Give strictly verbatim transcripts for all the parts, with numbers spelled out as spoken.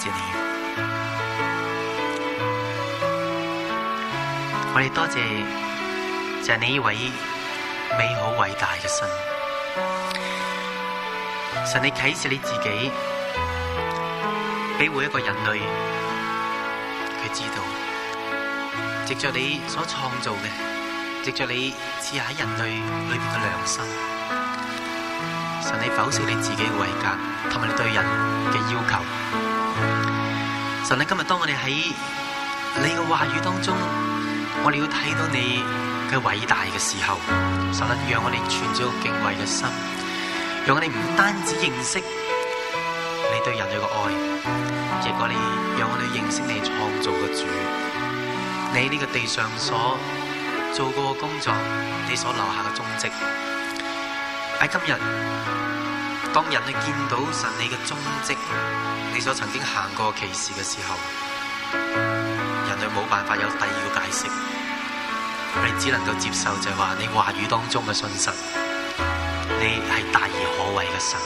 謝你，我哋多謝就係你呢位美好偉大嘅神。神，你啟示你自己俾每一個人類佢知道，藉着你所創造嘅，藉着你賜下喺人類裏邊嘅良心。神，你否定你自己嘅位格同埋你對人嘅要求。神，你今日當我哋喺你嘅話語當中，我哋要睇到你嘅偉大嘅時候，神啊，讓我哋存咗個敬畏嘅心，讓我哋唔單止認識你對人類嘅愛，亦我哋讓我哋認識你創造嘅主，你呢個地上所做過嘅工作，你所留下嘅蹤跡。喺今日，當人去見到神你嘅蹤跡，你所曾經行過奇事嘅時候，人類冇辦法有第二個解釋，我哋只能夠接受就係話你話語當中嘅信實，你係大而可畏嘅神。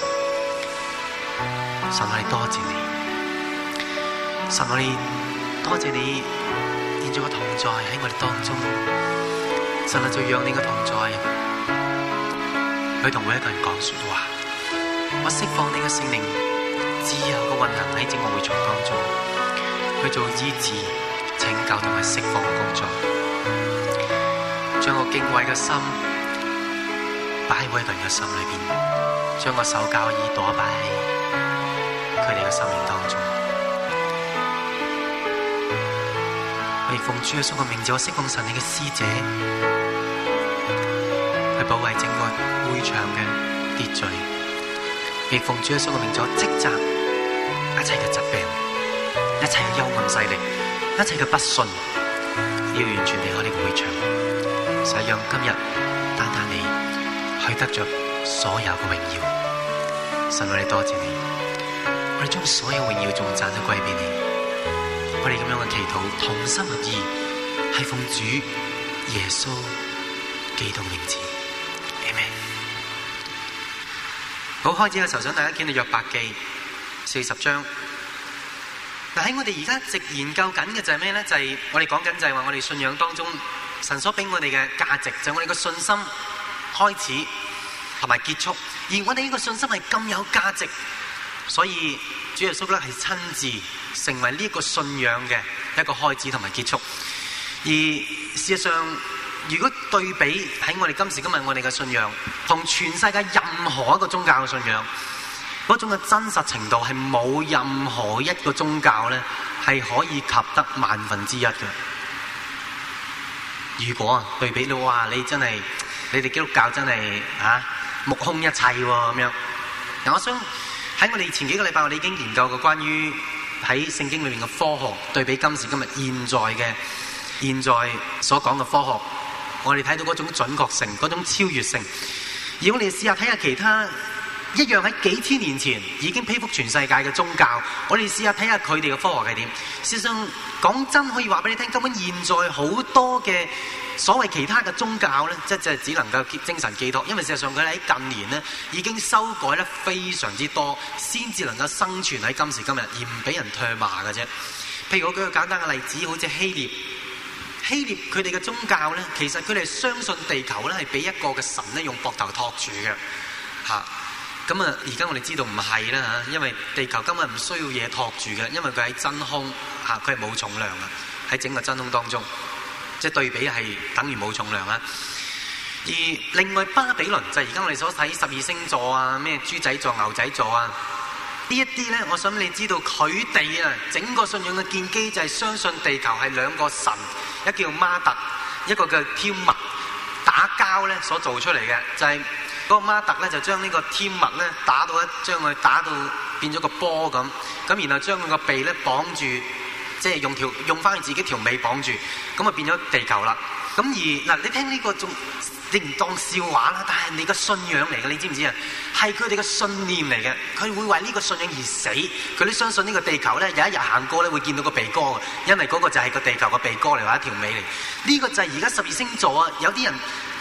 神，我哋多謝你，神，我哋多謝你現在嘅同在喺我哋當中。神啊，就讓你嘅同在去同每一個人講說話，我釋放你嘅聖靈自由嘅運行喺整個會場當中，去做醫治、拯救同埋釋放嘅工作，將個敬畏嘅心擺喺每一個人嘅心裏邊，將個受教耳朵擺喺佢哋嘅生命當中。我亦奉主耶穌嘅名字，我釋放神你嘅使者去保衛整個會場嘅秩序，亦奉主耶穌嘅名字，我斥責一切嘅疾病、一切嘅幽暗勢力、一切嘅不信，要完全離開呢個會場，使讓今日單單你去得着所有嘅榮耀。神，我哋多謝你，我哋將所有榮耀頌讚都歸俾你。我哋咁樣嘅祈禱，同心合意，係奉主耶穌基督名字。好，開始嘅時候想大家見到約伯記四十章。嗱，喺我哋而家一直研究緊嘅就係咩咧？就係、是、我哋講緊就係話我哋信仰當中神所俾我哋嘅價值，就係、是、我哋嘅信心開始同埋結束。而我哋呢個信心係咁有價值，所以主耶穌咧係親自成為呢一個信仰嘅一個開始同埋結束。而事實上，如果對比喺我哋今時今日我哋嘅信仰同全世界任何一個宗教嘅信仰嗰種嘅真實程度，係冇任何一個宗教咧係可以及得萬分之一嘅。如果啊對比到哇，你真係你哋基督教真係啊目空一切喎咁樣。嗱，我想喺我哋前幾個禮拜我哋已經研究過關於喺聖經裏面嘅科學對比今時今日現在嘅現在所講嘅科學。我哋睇到嗰種準確性，嗰種超越性。而我哋試下睇下其他一樣喺幾千年前已經披覆全世界嘅宗教，我哋試下睇下佢哋嘅科學係點。事實上講真，可以話俾你聽，根本現在好多嘅所謂其他嘅宗教咧，即係只能夠精神寄託，因為事實上佢哋喺近年咧已經修改得非常之多，先至能夠生存喺今時今日，而唔俾人唾罵嘅啫。譬如我舉個簡單嘅例子，好似希臘。希臘佢哋嘅宗教咧，其實佢哋相信地球咧係俾一個嘅神咧用膊頭托住嘅，嚇。咁啊，而家我哋知道唔係啦嚇，因為地球根本唔需要嘢托住嘅，因為佢喺真空嚇，佢係冇重量嘅，喺整個真空當中，即係對比係等於冇重量啦。而另外巴比倫就係而家我哋所睇十二星座啊，咩豬仔座、牛仔座啊。呢一啲咧，我想你知道佢哋啊，整個信仰嘅建基就係相信地球係兩個神，一個叫馬特，一個叫天物打交咧所做出嚟嘅，就係、是、嗰個馬特咧就將呢個天物咧打到一將佢打到變咗個波咁，咁然後將佢個鼻咧綁住，即係用條用翻佢自己條尾綁住，咁啊變咗地球啦。咁而嗱，你聽呢個仲你唔當笑話啦，但係你個信仰嚟嘅，你知唔知啊？係佢哋嘅信念嚟嘅，佢會為呢個信仰而死。佢都相信呢個地球咧，有一日行過咧會見到個鼻哥嘅，因為嗰個就係個地球個鼻哥嚟，或者條尾嚟。呢、這個就係而家十二星座啊！有啲人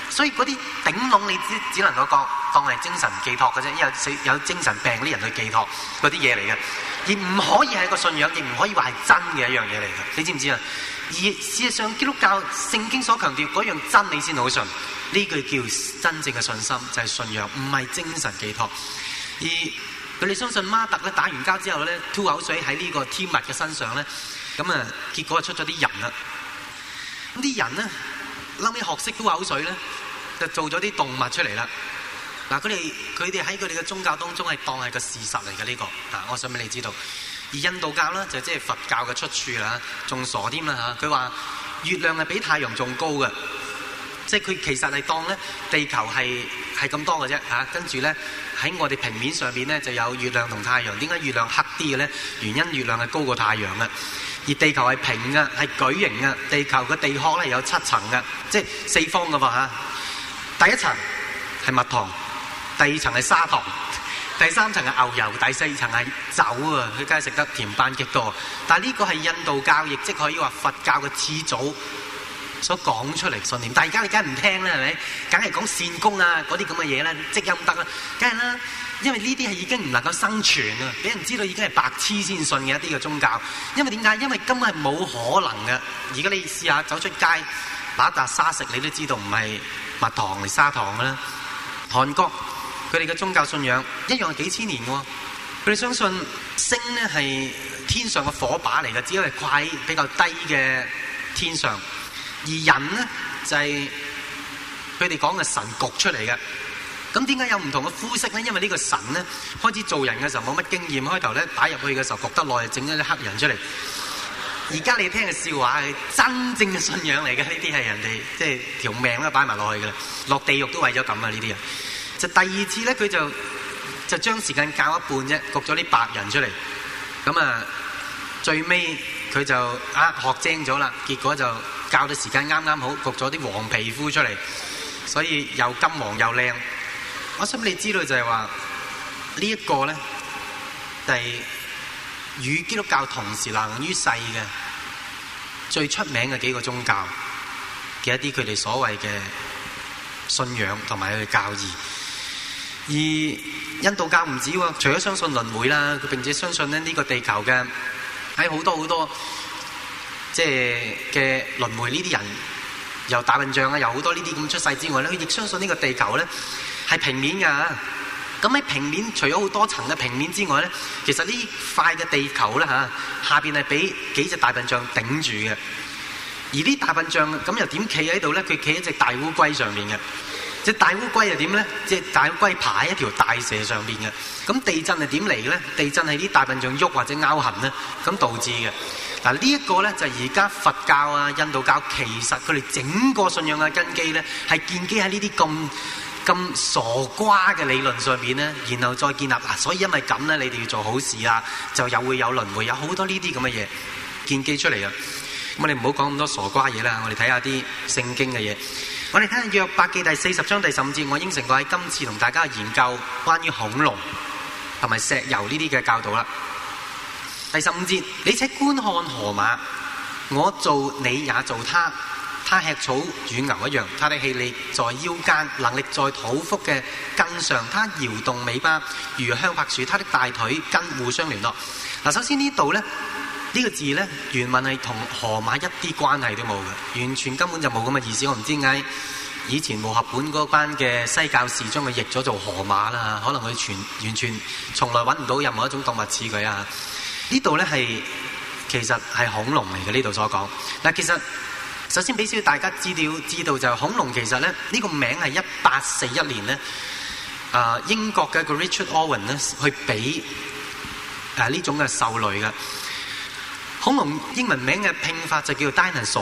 所以嗰啲頂籠你只只能夠當當係精神寄託嘅啫，因為有有精神病啲人去寄託嗰啲嘢嚟嘅，而唔可以係一個信仰，亦唔可以話係真嘅一樣嘢嚟嘅。你知唔知啊？而事實上，基督教聖經所強調嗰樣真理先好信，呢句叫真正嘅信心，就係信仰，唔係精神寄託。而佢哋相信馬特咧打完交之後咧，吐口水喺呢個天物嘅身上咧，咁啊結果出咗啲人啦。咁啲人咧後尾學識吐口水咧，就做咗啲動物出嚟啦。嗱，佢哋佢哋喺佢哋嘅宗教當中係當係個事實嚟嘅呢個。啊，我想俾你知道。而印度教咧就即係佛教嘅出處啦，仲傻添啦嚇！佢話月亮係比太陽仲高嘅，即係佢其實係當咧地球係係咁多嘅啫嚇。跟住咧喺我哋平面上邊咧就有月亮同太陽。點解月亮黑啲嘅咧？原因月亮係高過太陽嘅，而地球係平嘅，係矩形嘅。地球嘅地殼咧有七層嘅，即係四方嘅喎嚇。第一層係蜜糖，第二層係砂糖。第三層係牛油，第四層係酒啊！佢梗係食得甜班戟多。但係呢個係印度教，亦即可以話佛教嘅始祖所講出嚟信念。但係而家你梗係唔聽啦，係咪？梗係講善功啊，嗰啲咁嘅嘢啦，積陰德啦，梗係啦。因為呢啲係已經唔能夠生存啊！俾人知道已經係白痴先信嘅一啲嘅宗教。因為點解？因為根本係冇可能嘅。而家你試下走出街攞一笪沙食，你都知道唔係蜜糖嚟砂糖㗎啦。韓國佢哋嘅宗教信仰一樣係幾千年嘅喎，佢哋相信星咧係天上嘅火把嚟嘅，只係掛喺比較低嘅天上，而人咧就係佢哋講嘅神焗出嚟嘅。咁點解有唔同嘅膚色咧？因為呢個神咧開始做人嘅時候冇乜經驗，開頭咧打入去嘅時候焗得耐，整咗啲黑人出嚟。而家你聽嘅笑話係真正嘅信仰嚟嘅，呢啲係人哋即係條命都擺埋落去嘅啦，落地獄都為咗咁啊！呢啲人。就第二次咧，佢就就將時間較一半啫，焗咗啲白人出嚟。咁啊，最尾佢就啊學精咗啦，結果就較到時間啱啱好，焗咗啲黃皮膚出嚟，所以又金黃又靚。我想你知道就係話呢一個咧，係與基督教同時流行於世嘅最出名嘅幾個宗教嘅一啲佢哋所謂嘅信仰同埋佢嘅教義。而印度教唔止喎，除咗相信輪迴啦，佢並且相信咧呢個地球嘅喺好多好多即係嘅輪迴呢啲人，由大笨象啊，由好多呢啲咁出世之外咧，佢亦相信呢個地球咧係平面㗎。咁喺平面除咗好多層嘅平面之外咧，其實呢塊嘅地球咧嚇下邊係俾幾隻大笨象頂住嘅。而啲大笨象咁又點企喺度咧？佢企喺隻大烏龜上面嘅。隻大烏龜又點咧？隻大烏龜爬喺一條大蛇上邊嘅。咁地震係點嚟嘅咧？地震係啲大笨象喐或者拗痕咧，咁導致嘅。嗱呢一個咧就係而家佛教啊、印度教其實佢哋整個信仰嘅根基咧，係建基喺呢啲咁咁傻瓜嘅理論上邊咧，然後再建立嗱。所以因為咁咧，你哋要做好事啊，就又會有輪迴，有好多呢啲咁嘅嘢建基出嚟啊。咁我哋唔好講咁多傻瓜嘢啦，我哋睇下啲聖經嘅嘢。我哋睇下約伯記第四十章第十五節，我應承過喺今次同大家研究關於恐龍同埋石油呢啲嘅教導啦。第十五節，你且觀看河馬，我做你也做它，它吃草與牛一樣，它的氣力在腰間，能力在肚腹嘅根上，它搖動尾巴如香柏樹，它的大腿根互相聯絡。嗱，首先呢度咧。呢個字咧原文係同河馬一啲關係都冇嘅，完全根本就冇咁嘅意思。我唔知點解以前和合本嗰班嘅西教士將佢譯咗做河馬啦，可能佢全完全從來揾唔到任何一種動物似佢啊。呢度咧係其實係恐龍嚟嘅，呢度所講。嗱，其實首先俾少大家知道知道就係恐龍其實咧呢、呢個名係一八四一年咧啊、呃、英國嘅一個 Richard Owen 咧去俾誒呢種嘅獸類嘅。恐龍英文名嘅拼法就叫做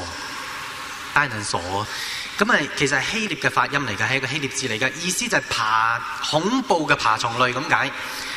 dinosaur，dinosaur 咁啊，其實係希臘嘅發音嚟嘅，係一個希臘字嚟嘅，意思就係爬恐怖嘅爬蟲類咁解。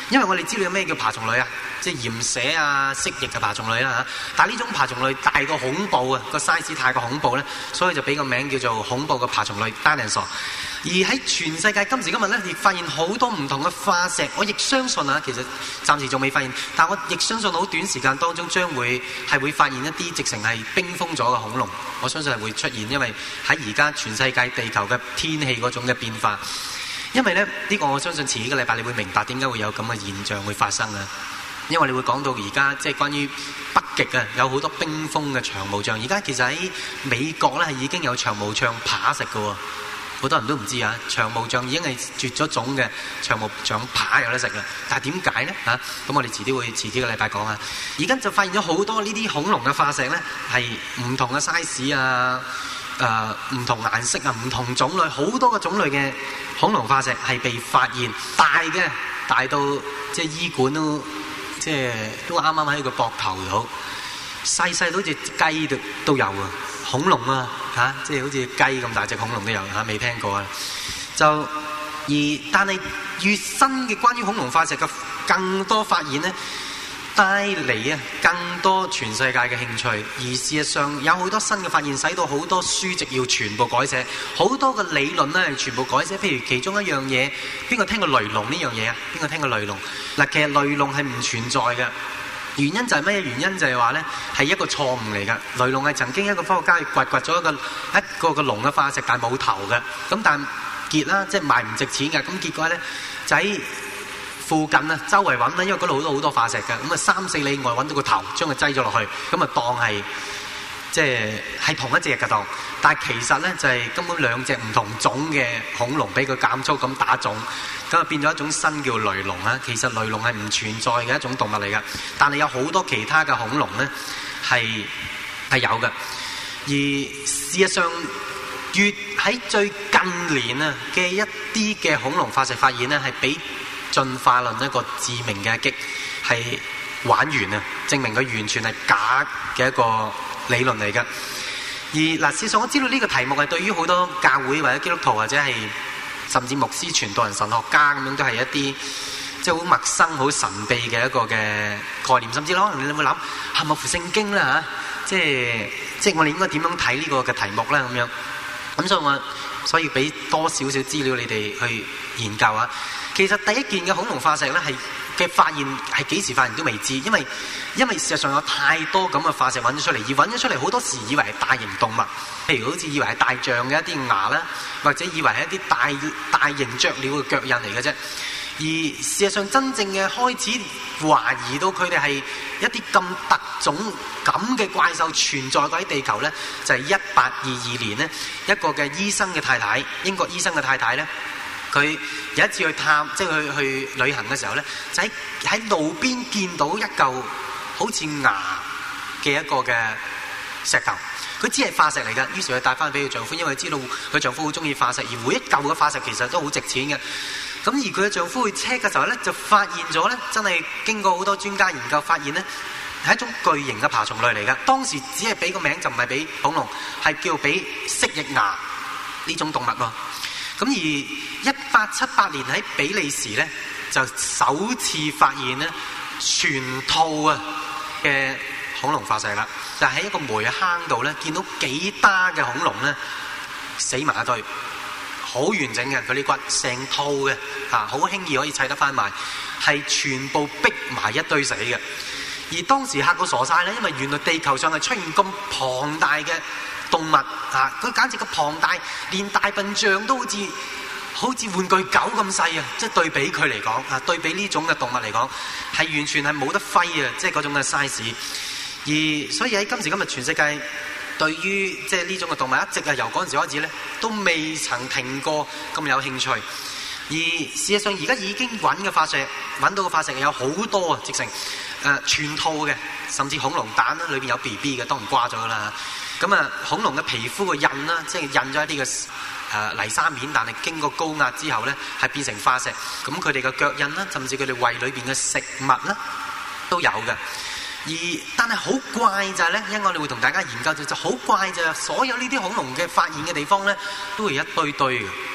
因為我哋知道有咩叫爬蟲類啊，即係鹽蛇啊、蜥蜴嘅爬蟲類啦嚇。但係呢種爬蟲類大過恐怖啊，個 size 太過恐怖咧，所以就俾個名叫做恐怖嘅爬蟲類 dinosaur。而喺全世界今時今日咧，亦發現好多唔同嘅化石。我亦相信啊，其實暫時仲未發現，但我亦相信好短時間當中將會係會發現一啲直情係冰封咗嘅恐龍。我相信係會出現，因為喺而家全世界地球嘅天氣嗰種嘅變化。因為咧呢、呢個我相信遲幾個禮拜你會明白點解會有咁嘅現象會發生啊。因為你會講到而家即係關於北極啊，有好多冰封嘅長毛象。而家其實喺美國咧係已經有長毛象扒食嘅喎。好多人都唔知啊，長毛象已經係絕咗種嘅長毛象扒有得食啦。但係點解呢？嚇、啊，咁我哋遲啲會遲啲個禮拜講啊。而家就發現咗好多呢啲恐龍嘅化石呢，係唔同嘅 size 啊，誒、呃、唔同顏色啊，唔同種類，好多個種類嘅恐龍化石係被發現，大嘅大到即係醫館都即係都啱啱喺個膊頭度，細細到好似雞都都有啊。恐龍啊，嚇、啊，即係好似雞咁大隻恐龍都有嚇，未、啊、聽過啊。就而但係越新嘅關於恐龍化石嘅更多發現呢，帶嚟啊更多全世界嘅興趣。而事實上有好多新嘅發現，使到好多書籍要全部改寫，好多嘅理論咧係全部改寫。譬如其中一樣嘢，邊個聽過雷龍呢樣嘢啊？邊個聽過雷龍？嗱，其實雷龍係唔存在嘅。原因就係咩？原因就係話呢係一個錯誤嚟㗎。雷龍係曾經一個科學家去掘掘咗一個一個個龍嘅化石，但係冇頭嘅。咁但係結啦，即係賣唔值錢嘅。咁結果呢，就喺附近啊，周圍揾啦，因為嗰度好多好多化石㗎。咁啊三四里外揾到個頭，將佢擠咗落去，咁啊當係即係係同一隻嘅當。但係其實呢，就係、是、根本兩隻唔同種嘅恐龍俾佢減粗咁打種。咁啊變咗一種新叫雷龍啊！其實雷龍係唔存在嘅一種動物嚟㗎，但係有好多其他嘅恐龍咧係係有嘅。而事實上，越喺最近年啊嘅一啲嘅恐龍化石發現咧，係俾進化論一個致命嘅一擊，係玩完啊！證明佢完全係假嘅一個理論嚟㗎。而嗱，事實上我知道呢個題目係對於好多教會或者基督徒或者係甚至牧師、傳道人、神學家咁樣，都係一啲即係好陌生、好神秘嘅一個嘅概念。甚至可能你會諗係咪符聖經啦嚇？即係即係我哋應該點樣睇呢個嘅題目咧？咁樣咁所以我所以俾多少少資料你哋去研究啊。其實第一件嘅恐龍化石咧係嘅發現係幾時發現都未知，因為因為事實上有太多咁嘅化石揾咗出嚟，而揾咗出嚟好多時以為係大型動物，譬如好似以為係大象嘅一啲牙啦，或者以為係一啲大大型雀鳥嘅腳印嚟嘅啫。而事實上真正嘅開始懷疑到佢哋係一啲咁特種咁嘅怪獸存在過喺地球呢，就係一八二二年呢，一個嘅醫生嘅太太，英國醫生嘅太太呢，佢有一次去探，即係去去旅行嘅時候呢，就喺喺路邊見到一嚿好似牙嘅一個嘅石頭，佢只係化石嚟㗎。於是佢帶翻俾佢丈夫，因為佢知道佢丈夫好中意化石，而每一嚿嘅化石其實都好值錢嘅。咁而佢嘅丈夫去 check 嘅時候呢，就發現咗呢，真係經過好多專家研究發現呢，係一種巨型嘅爬蟲類嚟㗎。當時只係俾個名，就唔係俾恐龍，係叫俾蜥蜴牙呢種動物喎。咁而一八七八年喺比利時呢，就首次發現呢全套啊嘅恐龍化石啦，就喺一個煤坑度呢，見到幾打嘅恐龍呢死埋一堆。好完整嘅佢啲骨，成套嘅嚇，好輕易可以砌得翻埋，係全部逼埋一堆死嘅。而當時嚇到傻晒咧，因為原來地球上係出現咁龐大嘅動物嚇，佢簡直個龐大，連大笨象都好似好似玩具狗咁細啊！即係對比佢嚟講啊，對比呢種嘅動物嚟講，係完全係冇得揮啊！即係嗰種嘅 size。而所以喺今時今日全世界，對於即係呢種嘅動物，一直係由嗰陣時開始咧，都未曾停過咁有興趣。而事實上，而家已經揾嘅化石，揾到嘅化石有好多啊，直成誒、呃、全套嘅，甚至恐龍蛋啦，裏邊有 B B 嘅，當然瓜咗啦。咁啊，恐龍嘅皮膚嘅印啦，即係印咗一啲嘅誒泥沙面，但係經過高壓之後咧，係變成化石。咁佢哋嘅腳印啦，甚至佢哋胃裏邊嘅食物啦，都有嘅。而但係好怪就係咧，因為我哋會同大家研究就就好怪就係，所有呢啲恐龍嘅發現嘅地方咧，都係一堆堆嘅。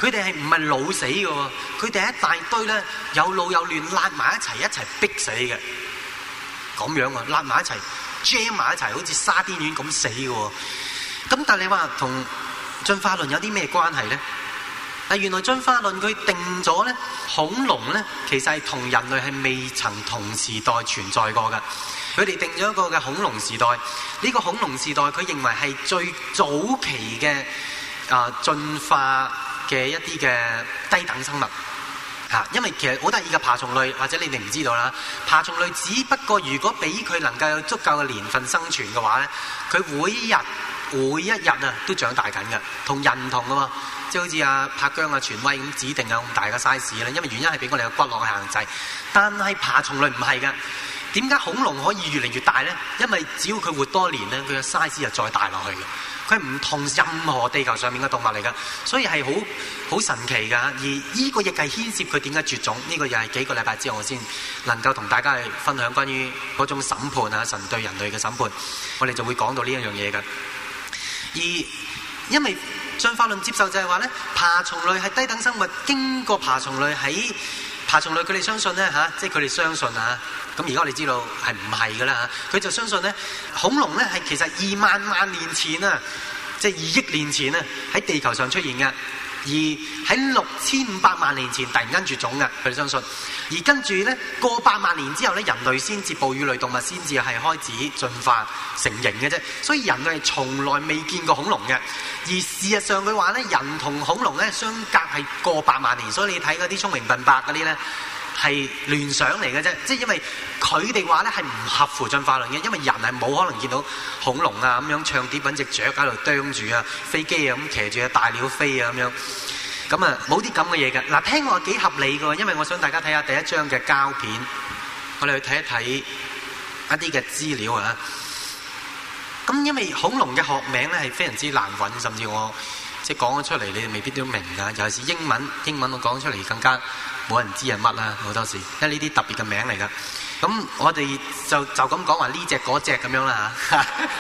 佢哋係唔係老死嘅喎？佢哋一大堆咧，有老有嫩，揦埋一齊一齊逼死嘅，咁樣啊，揦埋一齊 jam 埋一齊，好似沙甸魚咁死嘅喎。咁但係你話同進化論有啲咩關係咧？但原來進化論佢定咗咧，恐龍咧其實係同人類係未曾同時代存在過嘅。佢哋定咗一個嘅恐龍時代，呢、這個恐龍時代佢認為係最早期嘅啊、呃、進化嘅一啲嘅低等生物嚇、啊。因為其實好得意嘅爬蟲類，或者你哋唔知道啦，爬蟲類只不過如果俾佢能夠有足夠嘅年份生存嘅話咧，佢每一日每一日啊都長大緊嘅，同人唔同嘅喎。即係好似阿柏姜啊、權威咁指定有咁大嘅 size 咧，因為原因係俾我哋嘅骨骼限制。但係爬蟲類唔係嘅，點解恐龍可以越嚟越大咧？因為只要佢活多年咧，佢嘅 size 就再大落去嘅。佢係唔同任何地球上面嘅動物嚟㗎，所以係好好神奇㗎。而呢個亦係牽涉佢點解絕種，呢、這個又係幾個禮拜之後我先能夠同大家去分享關於嗰種審判啊，神對人類嘅審判，我哋就會講到呢一樣嘢㗎。而因為進化論接受就係話咧，爬蟲類係低等生物，經過爬蟲類喺爬蟲類佢哋相信咧嚇，即係佢哋相信啊。咁而家我哋知道係唔係㗎啦嚇，佢就相信咧恐龍咧係其實二萬萬年前啊，即係二億年前啊喺地球上出現嘅，而喺六千五百萬年前突然間絕種嘅，佢哋相信。而跟住咧過百萬年之後咧，人類先至哺乳類動物先至係開始進化成型嘅啫，所以人類係從來未見過恐龍嘅。而事實上佢話咧，人同恐龍咧相隔係過百萬年，所以你睇嗰啲聰明笨伯嗰啲咧係聯想嚟嘅啫，即係因為佢哋話咧係唔合乎進化論嘅，因為人係冇可能見到恐龍啊咁樣唱碟揾隻雀喺度啄住啊，飛機啊咁騎住啊大鳥飛啊咁樣。咁啊，冇啲咁嘅嘢嘅。嗱，聽我幾合理嘅，因為我想大家睇下第一張嘅膠片，我哋去睇一睇一啲嘅資料啊。咁因為恐龍嘅學名咧係非常之難揾，甚至我即係講咗出嚟，你哋未必都明㗎。尤其是英文，英文我講出嚟更加冇人知係乜啦，好多時，因為呢啲特別嘅名嚟㗎。咁我哋就就咁講話呢隻嗰隻咁樣啦嚇。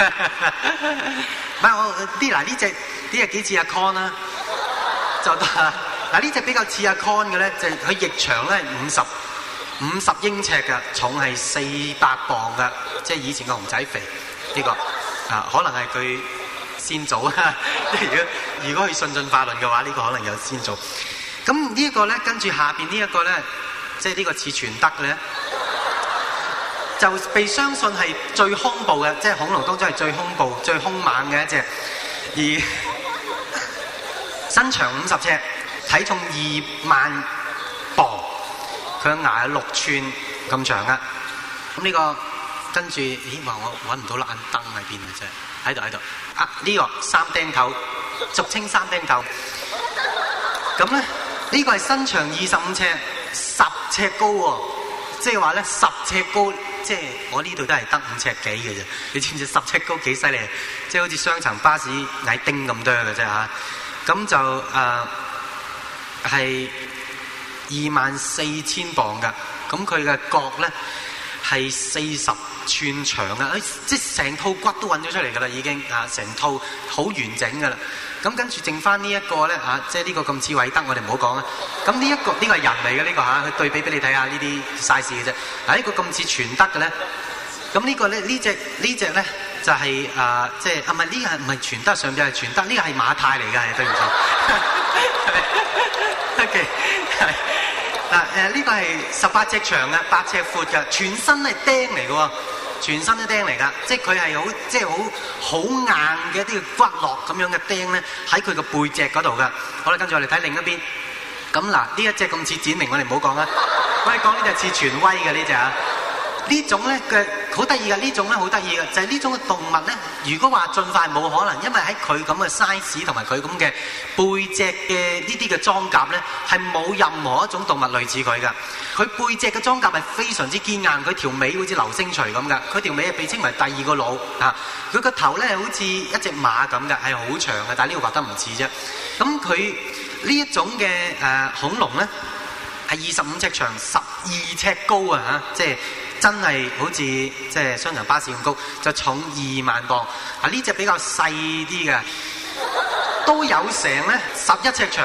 唔係我啲嗱呢隻呢隻幾似阿 Con 啦。就得嗱，呢隻比較似阿 Con 嘅咧，就係佢翼長咧五十五十英尺嘅，重係四百磅嘅，即係以前個熊仔肥呢、呢個啊，可能係佢先祖啊。如果如果佢信進化論嘅話，呢、呢個可能有先祖。咁呢一個咧，跟住下邊呢一個咧，即係呢個似全德嘅咧，就被相信係最兇暴嘅，即係恐龍當中係最兇暴、最兇猛嘅一隻，而身長五十尺，體重二萬磅，佢嘅牙有六寸咁長噶。咁呢、這個跟住，咦？話我揾唔到爛燈喺邊啊！真係喺度喺度。啊，呢、這個三釘頭，俗稱三釘頭。咁咧，呢、這個係身長二十五尺，十尺高喎、哦。即係話咧，十尺高，即係我呢度都係得五尺幾嘅啫。你知唔知十尺高幾犀利？即係好似雙層巴士矮丁咁多嘅啫嚇。咁就誒係二萬四千磅㗎，咁佢嘅角咧係四十寸長啊！即係成套骨都揾咗出嚟㗎啦，已經啊，成套好完整㗎啦。咁跟住剩翻呢一個咧嚇，即係呢個咁似韋德，我哋唔好講啦。咁呢一個呢、呢個係人嚟嘅呢個嚇，佢對比俾你睇下呢啲 size 嘅啫。嗱、呢、呢個咁似全德嘅咧，咁呢個咧呢隻呢隻咧。就係、是、啊，即係啊，唔係呢個係唔係全德，上邊係全德，呢個係馬太嚟嘅，係對唔住。OK， 係嗱誒，呢個係十八尺長嘅，八尺闊嘅，全身係釘嚟嘅喎，全身都釘嚟㗎，即係佢係好即係好好硬嘅一啲骨骼咁樣嘅釘咧，喺佢個背脊嗰度㗎。好啦，跟住我哋睇另一邊。咁嗱，呢一隻咁似展明，我哋唔好講啦。我哋講呢隻似權威嘅呢隻啊。呢種咧嘅好得意嘅，呢種咧好得意嘅，就係、是、呢種嘅動物咧。如果話進化冇可能，因為喺佢咁嘅 size 同埋佢咁嘅背脊嘅呢啲嘅裝甲咧，係冇任何一種動物類似佢噶。佢背脊嘅裝甲係非常之堅硬，佢條尾好似流星錘咁噶。佢條尾係被稱為第二個腦啊。佢個頭咧好似一隻馬咁噶，係好長嘅，但係呢個畫得唔似啫。咁佢呢一種嘅誒、呃、恐龍咧係二十五尺長，十二尺高啊嚇，即係。真係好似即係雙層巴士咁高，就重二萬磅。啊，呢隻比較細啲嘅，都有成咧十一尺長，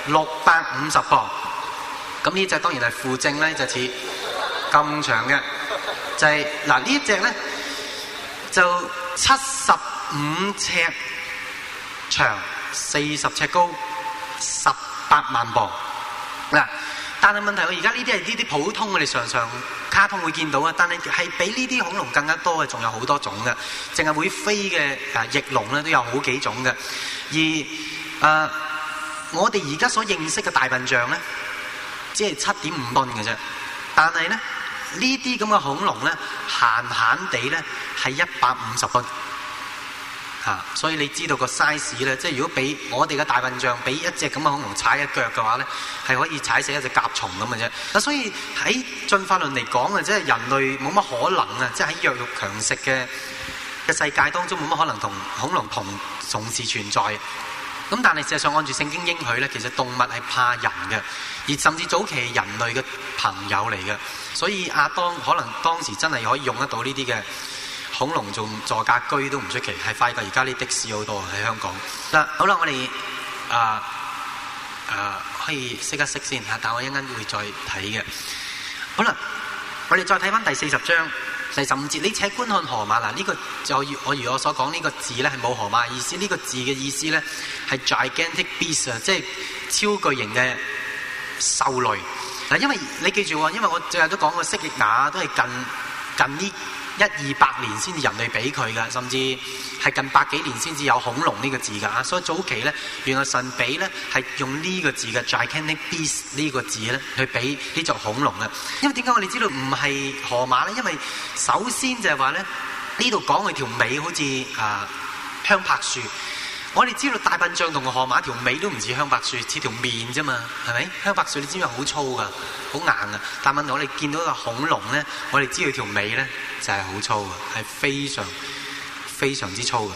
六百五十磅。咁呢隻當然係負正咧，就似咁長嘅，就係、是、嗱呢一隻咧就七十五尺長，四十尺高，十八萬磅嗱。但係問題，我而家呢啲係呢啲普通我哋常常卡通會見到啊，但係係比呢啲恐龍更加多嘅，仲有好多種嘅，淨係會飛嘅誒翼龍咧都有好幾種嘅。而誒、呃、我哋而家所認識嘅大笨象咧，只係七點五噸嘅啫。但係咧呢啲咁嘅恐龍咧，閒閒地咧係一百五十噸。啊！所以你知道個 size 咧，即係如果俾我哋嘅大笨象俾一隻咁嘅恐龍踩一腳嘅話咧，係可以踩死一隻甲蟲咁嘅啫。嗱，所以喺進化論嚟講啊，即係人類冇乜可能啊，即係喺弱肉強食嘅嘅世界當中冇乜可能同恐龍同同時存在。咁但係事實上按住聖經應許咧，其實動物係怕人嘅，而甚至早期係人類嘅朋友嚟嘅。所以亞當可能當時真係可以用得到呢啲嘅恐龍做座駕居都唔出奇，係快過而家啲的士好多喺香港。嗱，好啦，我哋啊啊可以熄一熄先嚇，但我一陣間會再睇嘅。好啦，我哋再睇翻第四十章第十五節，你且觀看河馬嗱，呢、這個就我如我所講呢、這個字咧係冇河馬意思，呢、這個字嘅意思咧係 gigantic beast 啊，即係超巨型嘅獸類嗱。因為你記住喎，因為我最後都講過蜥蜴牙都係近近呢一二百年先至人類俾佢嘅，甚至係近百幾年先至有恐龍呢個字㗎。所以早期咧，原來神俾咧係用呢個字嘅 gigantic beast 呢個字咧去俾呢隻恐龍嘅。因為點解我哋知道唔係河馬咧？因為首先就係話咧，呢度講佢條尾好似啊香柏樹。我哋知道大笨象同河馬條尾都唔似香柏樹，似條面啫嘛，係咪？香柏樹你知唔知好粗噶，好硬噶。但問題我哋見到個恐龍咧，我哋知佢條尾咧就係好粗嘅，係非常非常之粗嘅。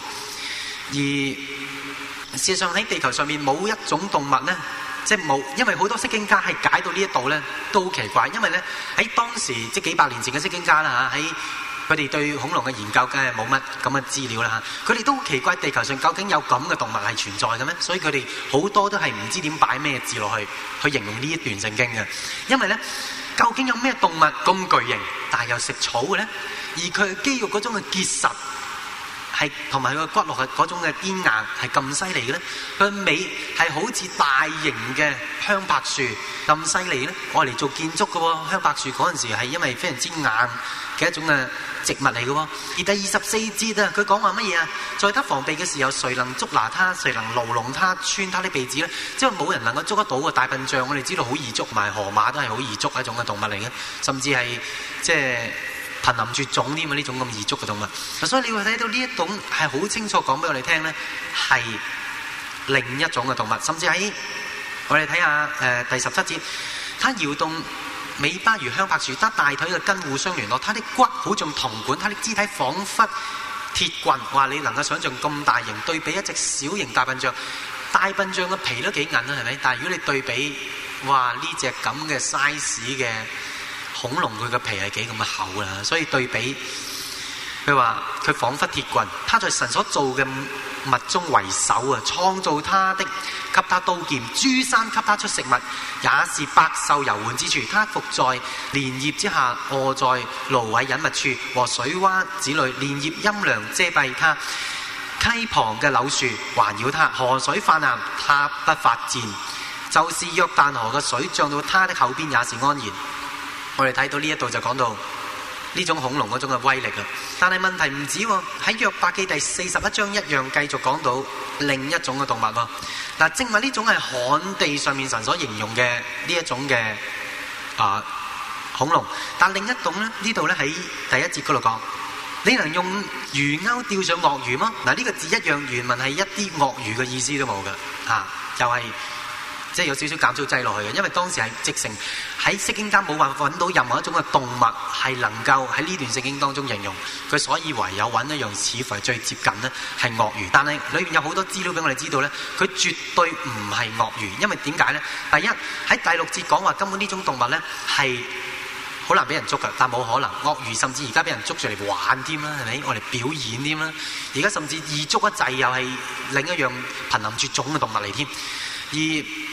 而事實上喺地球上面冇一種動物咧，即係冇，因為好多釋經家係解到呢一度咧都好奇怪，因為咧喺當時即係幾百年前嘅釋經家啦嚇喺。佢哋對恐龍嘅研究梗係冇乜咁嘅資料啦嚇，佢哋都好奇怪地球上究竟有咁嘅動物係存在嘅咩？所以佢哋好多都係唔知點擺咩字落去去形容呢一段聖經嘅，因為咧究竟有咩動物咁巨型，但係又食草嘅咧？而佢肌肉嗰種嘅結實係同埋佢個骨骼嘅嗰種嘅堅硬係咁犀利嘅咧？佢尾係好似大型嘅香柏樹咁犀利咧？我嚟做建築嘅喎，香柏樹嗰陣時係因為非常之硬嘅一種嘅植物嚟嘅喎。而第二十四節啊，佢講話乜嘢啊？在他防備嘅時候，誰能捉拿他？誰能牢籠他？穿他的鼻子咧？即係冇人能夠捉得到嘅大笨象，我哋知道好易捉，埋河馬都係好易捉一種嘅動物嚟嘅，甚至係即係瀕臨絕種添啊！呢種咁易捉嘅動物，所以你會睇到呢一種係好清楚講俾我哋聽咧，係另一種嘅動物。甚至喺我哋睇下誒第十七節，它搖動尾巴如香柏樹，它大腿嘅根互相聯絡，它的骨好像銅管，它的肢體彷彿鐵棍。話你能夠想象咁大型對比一隻小型大笨象，大笨象嘅皮都幾韌啦，係咪？但係如果你對比，哇呢隻咁嘅 size 嘅恐龍，佢嘅皮係幾咁厚啦，所以對比佢話佢彷彿鐵棍，他在神所造嘅物中為首啊！創造他的，給他刀劍；諸山給他出食物，也是百獸遊玩之處。他伏在蓮葉之下，臥在蘆葦隱密處和水窪子裏，蓮葉陰涼遮蔽他。溪旁嘅柳樹環繞他，河水泛濫，他不發戰。就是約旦河嘅水漲到他的口邊，也是安然。我哋睇到呢一度就講到呢種恐龍嗰種嘅威力啦，但係問題唔止喎，喺約伯記第四十一章一樣繼續講到另一種嘅動物喎。嗱，正話呢種係旱地上面神所形容嘅呢一種嘅啊恐龍，但另一種咧呢度咧喺第一節嗰度講，你能用魚鈎釣上鱷魚嗎？嗱，呢個字一樣原文係一啲鱷魚嘅意思都冇㗎，嚇又係。即係有少少減少劑落去嘅，因為當時係直成喺釋經家冇辦法揾到任何一種嘅動物係能夠喺呢段聖經當中形容佢，所以唯有揾一樣似乎係最接近呢係鱷魚。但係裏面有好多資料俾我哋知道呢，佢絕對唔係鱷魚，因為點解呢？第一喺第六節講話根本呢種動物呢係好難俾人捉㗎，但冇可能鱷魚甚至而家俾人捉住嚟玩添啦，係咪？我嚟表演添啦，而家甚至易捉一滯又係另一樣瀕臨絕種嘅動物嚟添，而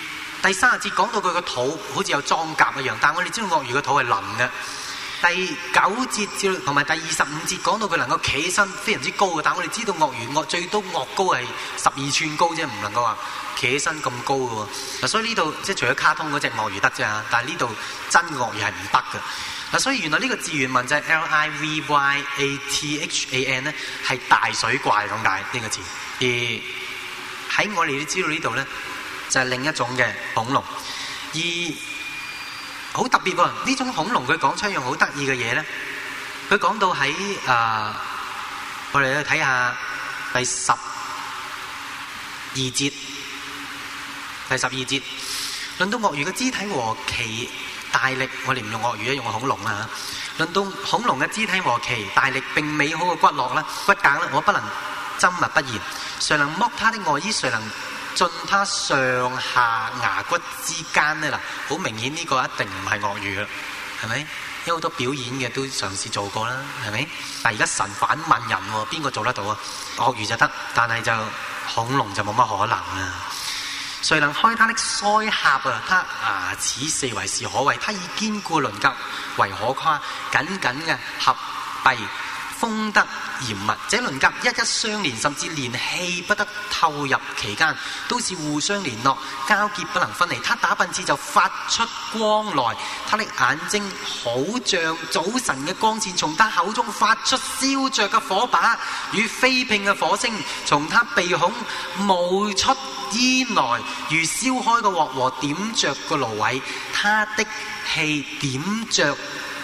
第三十節講到佢個肚好似有裝甲一樣，但係我哋知道鱷魚個肚係腍嘅。第九節至同埋第二十五節講到佢能夠企起身非常之高嘅，但係我哋知道鱷魚鱷最多鱷高係十二寸高啫，唔能夠話企起身咁高嘅喎。嗱，所以呢度即係除咗卡通嗰隻鱷魚得啫，但係呢度真鱷魚係唔得嘅。嗱，所以原來呢個字原文就係 L I V Y A T H A N 咧，係大水怪咁解呢個字。而喺我哋都知道呢度咧，就係另一種嘅恐龍。而好特別喎！呢種恐龍佢講出一樣好得意嘅嘢咧，佢講到喺啊、呃，我哋去睇下第十二節，第十二節論到鱷魚嘅肢體和其大力，我哋唔用鱷魚啊，用恐龍啦嚇。論到恐龍嘅肢體和其大力並美好嘅骨骼啦、骨骼咧，我不能緘默不言。誰能剝他的外衣？誰能進他上下牙骨之間呢？嗱，好明顯呢個一定唔係鱷魚啦，係咪？因為好多表演嘅都嘗試做過啦，係咪？但係而家神反問人喎，邊個做得到啊？鱷魚就得，但係就恐龍就冇乜可能啊！誰能開他的腮頰啊？他牙齒四圍是可畏，他以堅固鱗甲為可誇，緊緊嘅合閉，封得嚴密，這鱗甲一一相連，甚至連氣不得透入其間，都是互相聯絡，交結不能分離。他打噴嚏就發出光來，他的眼睛好像早晨嘅光線，從他口中發出燒着嘅火把，與飛迸嘅火星，從他鼻孔冒出煙來，如燒開嘅鑊和點着嘅蘆葦。他的氣點着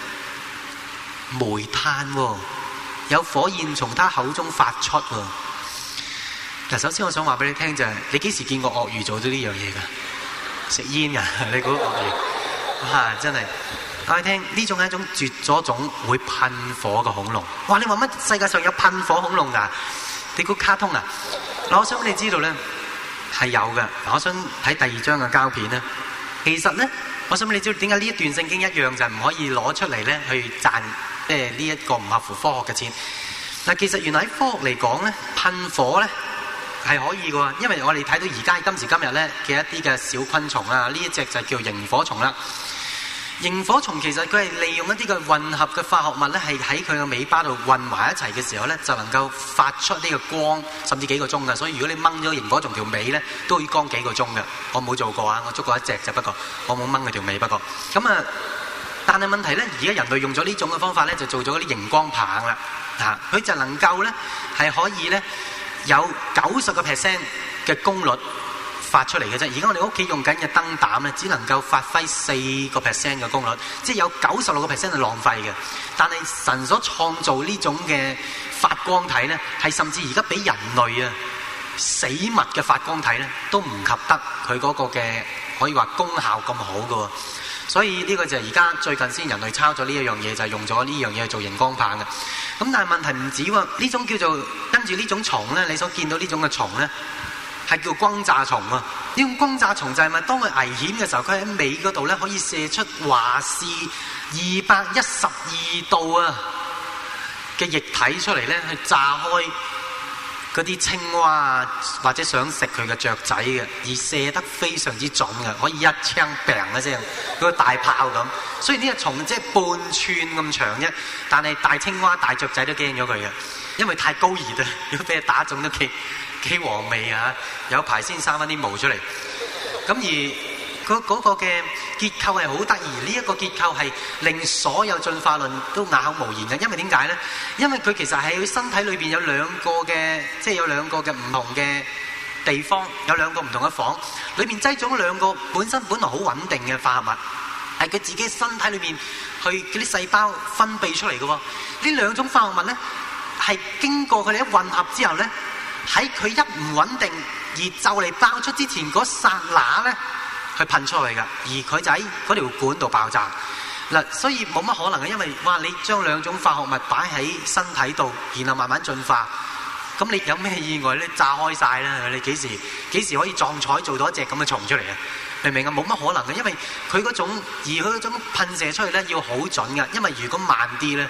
煤炭喎，有火焰從他口中發出喎。嗱，首先我想話俾你聽就係、是，你幾時見過鱷魚做咗呢樣嘢㗎？食煙㗎？你估鱷魚？哇！真係，我哋聽呢種係一種絕咗種會噴火嘅恐龍。哇！你話乜世界上有噴火恐龍㗎？你估卡通啊？嗱，我想你知道咧係有嘅。我想睇第二張嘅膠片咧，其實咧，我想你知道點解呢一段聖經一樣就唔可以攞出嚟咧去賺？即係呢一個唔合乎科學嘅錢。嗱，其實原來喺科學嚟講咧，噴火咧係可以嘅，因為我哋睇到而家今時今日咧嘅一啲嘅小昆蟲啊，呢一隻就叫螢火蟲啦。螢火蟲其實佢係利用一啲嘅混合嘅化學物咧，係喺佢嘅尾巴度混埋一齊嘅時候咧，就能夠發出呢個光，甚至幾個鐘嘅。所以如果你掹咗螢火蟲條尾咧，都可以光幾個鐘嘅。我冇做過啊，我捉過一隻就，不過我冇掹佢條尾。不過咁啊。但係問題咧，而家人類用咗呢種嘅方法咧，就做咗啲熒光棒啦。啊，佢就能夠咧係可以咧有九十個 percent 嘅功率發出嚟嘅啫。而家我哋屋企用緊嘅燈膽咧，只能夠發揮四個 percent 嘅功率，即係有九十六個 percent 係浪費嘅。但係神所創造呢種嘅發光體咧，係甚至而家比人類啊死物嘅發光體咧，都唔及得佢嗰個嘅可以話功效咁好嘅。所以呢個就係而家最近先人類抄咗呢一樣嘢，就係、是、用咗呢樣嘢去做熒光棒嘅。咁但係問題唔止喎，呢種叫做跟住呢種蟲咧，你所見到呢種嘅蟲咧，係叫轟炸蟲啊！呢種轟炸蟲就係咪當佢危險嘅時候，佢喺尾嗰度咧可以射出華氏二百一十二度啊嘅液體出嚟咧，去炸開嗰啲青蛙啊，或者想食佢嘅雀仔嘅，而射得非常之準嘅，可以一槍砰一聲，嗰個大炮咁。雖然呢隻蟲即係半寸咁長啫，但係大青蛙、大雀仔都驚咗佢嘅，因為太高熱啊！如果俾佢打中都幾幾和味啊！有排先生翻啲毛出嚟。咁而嗰嗰個嘅結構係好得意，呢一個結構係令所有進化論都啞口無言嘅。因為點解咧？因為佢其實喺佢身體裏邊有兩個嘅，即係有兩個嘅唔同嘅地方，有兩個唔同嘅房，裏邊擠咗兩個本身本來好穩定嘅化合物，係佢自己身體裏邊去嗰啲細胞分泌出嚟嘅。呢兩種化合物咧，係經過佢哋一混合之後咧，喺佢一唔穩定而就嚟爆出之前嗰剎那咧，去噴出去㗎，而佢就喺嗰條管度爆炸嗱，所以冇乜可能嘅，因為哇，你將兩種化學物擺喺身體度，然後慢慢進化，咁你有咩意外咧？炸開晒啦！你幾時幾時可以撞彩做到一隻咁嘅蟲出嚟啊？明唔明啊？冇乜可能嘅，因為佢嗰種而佢嗰種噴射出去咧要好準㗎，因為如果慢啲咧，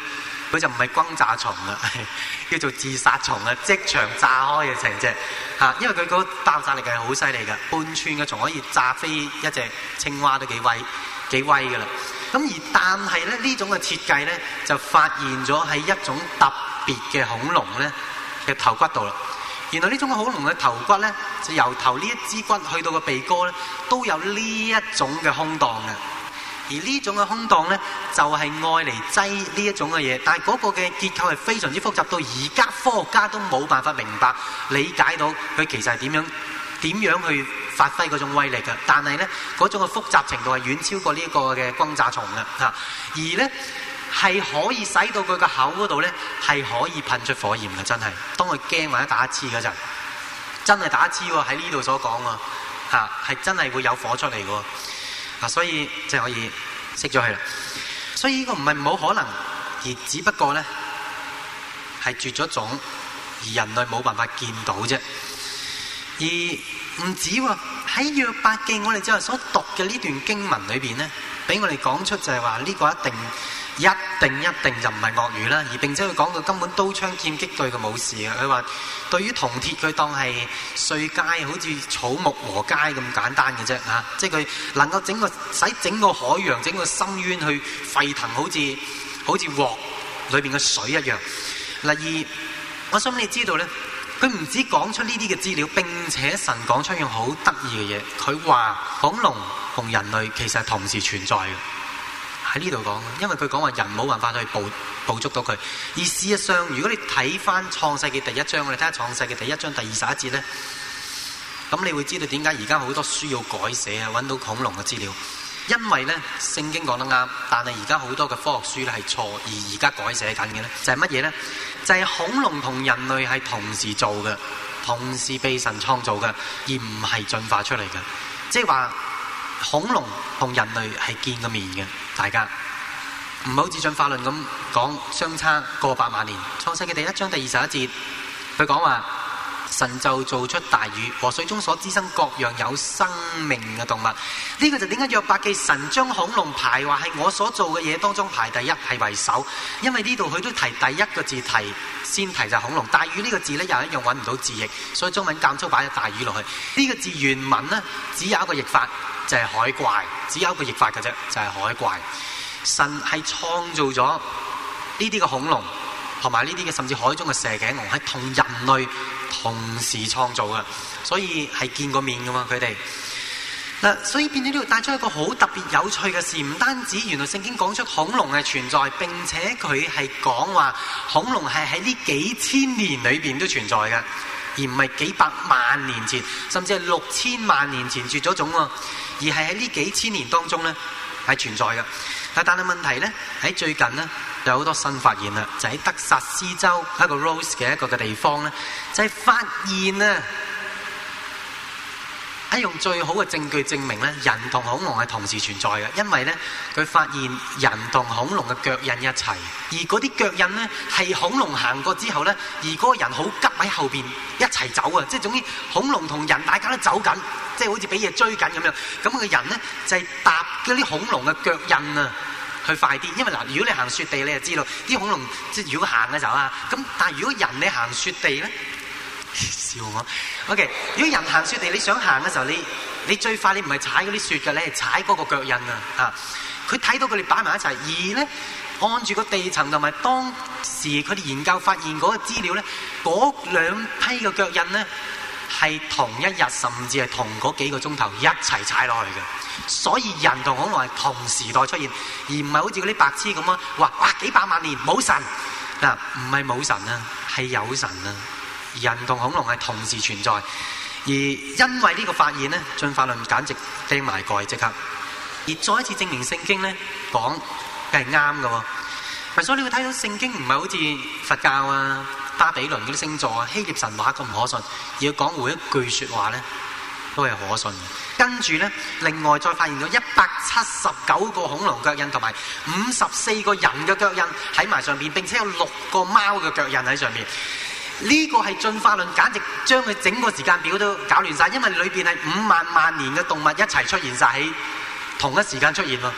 佢就唔係轟炸蟲啦，叫做自殺蟲啊！即場炸開嘅成隻嚇，因為佢嗰爆炸力係好犀利㗎，半寸嘅蟲可以炸飛一隻青蛙都幾威幾威㗎啦。咁而但係咧呢種嘅設計咧，就發現咗係一種特別嘅恐龍咧嘅頭骨度啦。原來呢種恐龍嘅頭骨咧，就由頭呢一支骨去到個鼻哥咧，都有呢一種嘅空檔嘅。而呢種嘅空檔咧，就係愛嚟擠呢一種嘅嘢，但係嗰個嘅結構係非常之複雜，到而家科學家都冇辦法明白理解到佢其實係點樣點樣去發揮嗰種威力嘅。但係咧嗰種嘅複雜程度係遠超過呢個嘅轟炸蟲嘅嚇，而咧係可以使到佢個口嗰度咧係可以噴出火焰嘅，真係當佢驚或者打一次嗰陣，真係打一次喎，喺呢度所講喎嚇，係真係會有火出嚟嘅喎。啊，所以即係可以熄咗佢啦。所以呢個唔係冇可能，而只不過咧係絕咗種，而人類冇辦法見到啫。而唔止喎，喺約伯記我哋之後所讀嘅呢段經文裏邊咧，俾我哋講出就係話呢個一定一定一定就唔係鱷魚啦。而並且佢講到根本刀槍劍擊對佢冇事嘅。佢話對於銅鐵佢當係碎階，好似草木禾秸咁簡單嘅啫嚇。即係佢能夠整個使整個海洋、整個深淵去沸騰，好似好似鑊裏邊嘅水一樣。例如，我想你知道咧，佢唔止講出呢啲嘅資料，並且神講出一樣好得意嘅嘢。佢話恐龍同人類其實係同時存在嘅。喺呢度講，因為佢講話人冇辦法去捕捕捉到佢。而事實上，如果你睇翻創世記第一章，我哋睇下創世記第一章第二十一節咧，咁你會知道點解而家好多書要改寫啊，揾到恐龍嘅資料。因為咧聖經講得啱，但係而家好多嘅科學書咧係錯，而而家改寫緊嘅咧就係乜嘢咧？就係、是、恐龍同人類係同時做嘅，同時被神創造嘅，而唔係進化出嚟嘅。即係話恐龍同人類係見過面嘅，大家唔好似進化論咁講相差過百萬年。創世記第一章第二十一節，佢講話神就做出大魚和水中所滋生各樣有生命嘅動物。呢、這個就點解約伯記神將恐龍排話係我所做嘅嘢當中排第一係為首，因為呢度佢都提第一個字提先提就係恐龍。大魚呢個字呢，又一樣揾唔到字譯，所以中文間粗擺咗大魚落去。呢、這個字原文呢，只有一個譯法，就係、是、海怪，只有一個譯法嘅啫，就係、是、海怪。神係創造咗呢啲嘅恐龍同埋呢啲嘅甚至海中嘅蛇頸龍係同人類同時創造嘅，所以係見過面噶嘛佢哋嗱，所以變咗呢度帶出一個好特別有趣嘅事，唔單止原來聖經講出恐龍係存在，並且佢係講話恐龍係喺呢幾千年裏邊都存在嘅，而唔係幾百萬年前，甚至係六千萬年前絕咗種喎，而係喺呢幾千年當中咧係存在嘅。但係問題咧喺最近咧有好多新發現啦，就喺德薩斯州一個 Rose 嘅一個嘅地方咧，就係、是、發現啊，係用最好嘅證據證明咧，人同恐龍係同時存在嘅，因為咧佢發現人同恐龍嘅腳印一齊，而嗰啲腳印咧係恐龍行過之後咧，而嗰個人好急喺後邊一齊走啊，即係總之恐龍同人大家都走緊。即係好似俾嘢追緊咁樣，咁個人咧就係、是、搭嗰啲恐龍嘅腳印啊，去快啲。因為嗱，如果你行雪地，你就知道啲恐龍即係如果行嘅時候啊，咁但係如果人你行雪地咧，笑我。OK， 如果人行雪地，你想行嘅時候，你你最快你唔係踩嗰啲雪嘅，你係踩嗰個腳印啊！啊，佢睇到佢哋擺埋一齊，而咧按住個地層同埋當時佢哋研究發現嗰個資料咧，嗰兩批嘅腳印咧。係同一日，甚至係同嗰幾個鐘頭一齊踩落去嘅，所以人同恐龍係同時代出現，而唔係好似嗰啲白痴咁啊！話哇幾百萬年冇神嗱，唔係冇神啊，係有神啊！人同恐龍係同時存在，而因為呢個發現咧，進化論簡直釘埋蓋即刻，而再一次證明聖經咧講係啱嘅喎。所以你會睇到聖經唔係好似佛教啊、巴比倫嗰啲星座啊、希臘神話咁唔可信，而要講每一句説話咧都係可信嘅。跟住咧，另外再發現咗一百七十九個恐龍腳印同埋五十四個人嘅腳印喺埋上邊，並且有六個貓嘅腳印喺上面。呢、這個係進化論簡直將佢整個時間表都搞亂晒，因為裏邊係五萬萬年嘅動物一齊出現晒喺同一時間出現喎。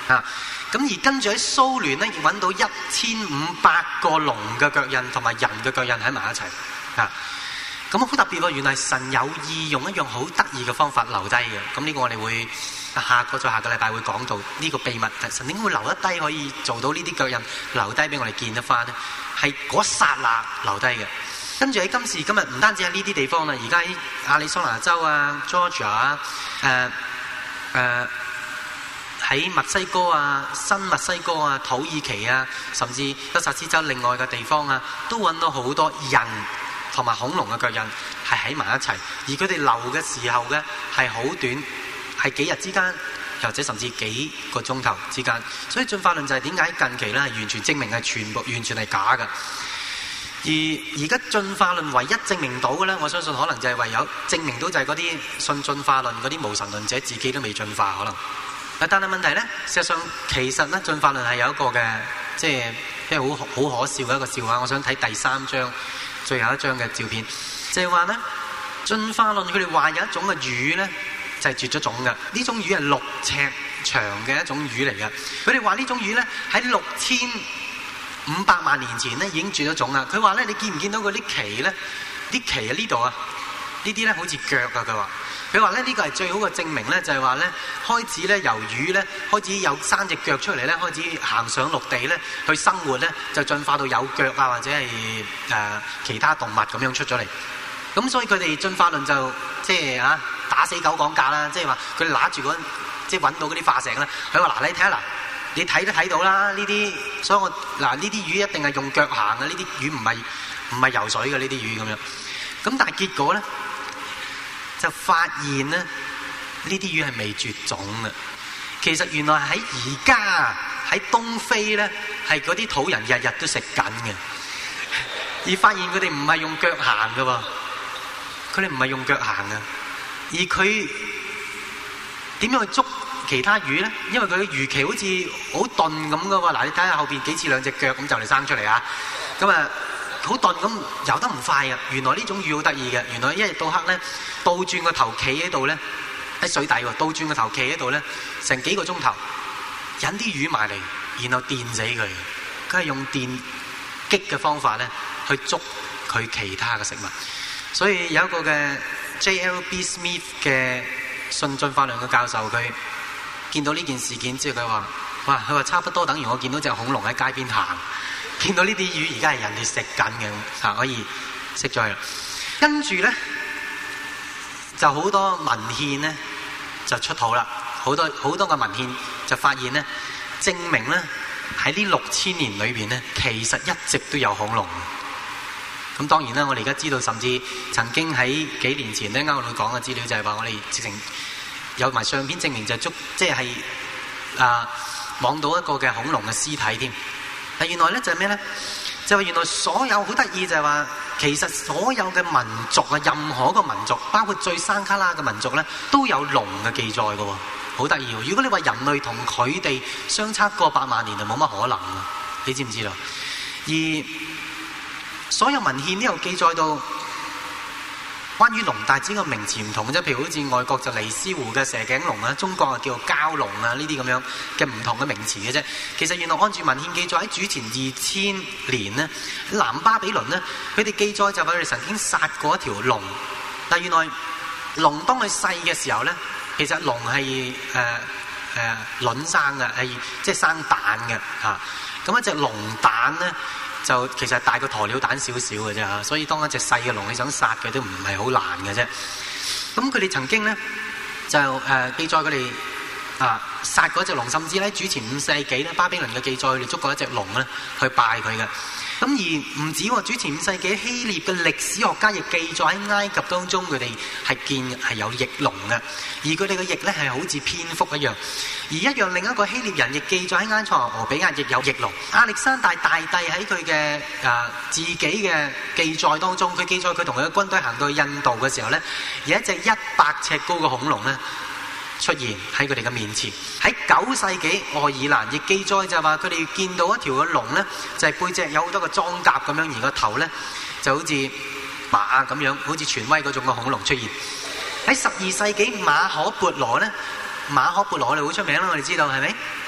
啊！咁而跟住喺蘇聯咧，亦揾到一千五百個龍嘅腳印同埋人嘅腳印喺埋一齊啊！咁好特別喎，原來神有意用一樣好得意嘅方法留低嘅。咁呢個我哋會下個再下個禮拜會講到呢個秘密。神點會留得低可以做到呢啲腳印留低俾我哋見得翻呢？係嗰一剎那留低嘅。跟住喺今時今日，唔單止喺呢啲地方啦，而家喺亞利桑那州啊、Georgia 啊、誒誒喺墨西哥啊、新墨西哥啊、土耳其啊，甚至德薩斯州另外嘅地方啊，都揾到好多人同埋恐龍嘅腳印係喺埋一齊，而佢哋留嘅時候咧係好短，係幾日之間，或者甚至幾個鐘頭之間。所以進化論就係點解近期咧係完全證明係全部完全係假嘅。而而家進化論唯一證明到嘅咧，我相信可能就係唯有證明到就係嗰啲信進化論嗰啲無神論者自己都未進化可能。但係問題咧，事實上其實咧進化論係有一個嘅，即係即係好好可笑嘅一個笑話。我想睇第三章最後一張嘅照片，就係話咧進化論佢哋話有一種嘅魚咧就係、是、絕咗種嘅，呢種魚係六尺長嘅一種魚嚟嘅。佢哋話呢種魚咧喺六千五百萬年前咧已經絕咗種啦。佢話咧，你見唔見到嗰啲鰭咧？啲鰭喺呢度啊，呢啲咧好似腳啊。佢話佢話咧呢個係最好嘅證明咧，就係話咧開始咧由魚咧開始有生隻腳出嚟咧，開始行上陸地咧去生活咧，就進化到有腳啊或者係誒、呃、其他動物咁樣出咗嚟。咁所以佢哋進化論就即係啊打死狗講價啦，即係話佢哋揦住嗰即係揾到嗰啲化石咧，佢話嗱你睇下嗱。你睇都睇到啦，呢啲，所以我嗱呢啲魚一定係用腳行嘅，呢啲魚唔係唔係游水嘅呢啲魚咁樣。咁但係結果咧，就發現咧，呢啲魚係未絕種嘅。其實原來喺而家喺東非咧，係嗰啲土人日日都食緊嘅，而發現佢哋唔係用腳行嘅喎，佢哋唔係用腳行嘅，而佢點樣去捉其他魚咧？因為佢嘅魚鰭好似好鈍咁噶喎。嗱，你睇下後邊幾似兩隻腳咁就嚟生出嚟啊！咁啊，好鈍咁游得唔快啊！原來呢種魚好得意嘅，原來一日到黑咧倒轉個頭企喺度咧，喺水底喎，倒轉個頭企喺度咧，成幾個鐘頭引啲魚埋嚟，然後電死佢。佢係用電擊嘅方法咧去捉佢其他嘅食物。所以有一個嘅 J L B Smith 嘅信進化論嘅教授，佢見到呢件事件之後，佢話：哇！佢話差不多等於我見到隻恐龍喺街邊行，見到呢啲魚而家係人哋食緊嘅，嚇可以食咗佢啦。跟住咧就好多文獻咧就出土啦，好多好多嘅文獻就發現咧，證明咧喺呢六千年裏邊咧，其實一直都有恐龍。咁當然啦，我哋而家知道，甚至曾經喺幾年前咧，啱啱我講嘅資料就係話，我哋直情有埋相片證明就係捉，即係啊望到一個嘅恐龍嘅屍體添。但原來咧就係咩咧？就係原來所有好得意就係話，其實所有嘅民族啊，任何一個民族，包括最山卡拉嘅民族咧，都有龍嘅記載嘅喎，好得意喎！如果你話人類同佢哋相差過百萬年，就冇乜可能啊！你知唔知道？而所有文獻都有記載到關於龍大隻個名詞唔同嘅啫，譬如好似外國就尼斯湖嘅蛇頸龍啊，中國啊叫做蛟龍啊，呢啲咁樣嘅唔同嘅名詞嘅啫。其實原來按住文獻記載喺主前二千年呢，南巴比倫呢，佢哋記載就話佢哋曾經殺過一條龍。但原來龍當佢細嘅時候咧，其實龍係誒誒卵生嘅，係即係生蛋嘅嚇。咁一隻龍蛋咧，就其實大過鴕鳥蛋少少嘅啫嚇，所以當一隻細嘅龍你想殺佢都唔係好難嘅啫。咁佢哋曾經咧就誒、呃、記載佢哋啊殺過一隻龍，甚至咧主前五世紀咧巴比倫嘅記載，佢哋捉過一隻龍咧去拜佢嘅。咁而唔止喎，主前五世紀希臘嘅歷史學家亦記載喺埃及當中，佢哋係見係有翼龍嘅，而佢哋嘅翼咧係好似蝙蝠一樣。而一樣另一個希臘人亦記載喺埃塞俄比亞亦有翼龍。亞歷山大大帝喺佢嘅啊自己嘅記載當中，佢記載佢同佢嘅軍隊行到去印度嘅時候咧，有一隻一百尺高嘅恐龍咧出現喺佢哋嘅面前。喺九世紀愛爾蘭亦記載就話佢哋見到一條嘅龍咧，就係、是、背脊有好多個裝甲咁樣，而個頭咧就好似馬咁樣，好似權威嗰種嘅恐龍出現。喺十二世紀馬可孛羅咧，馬可孛羅我哋好出名啦，我哋知道係咪？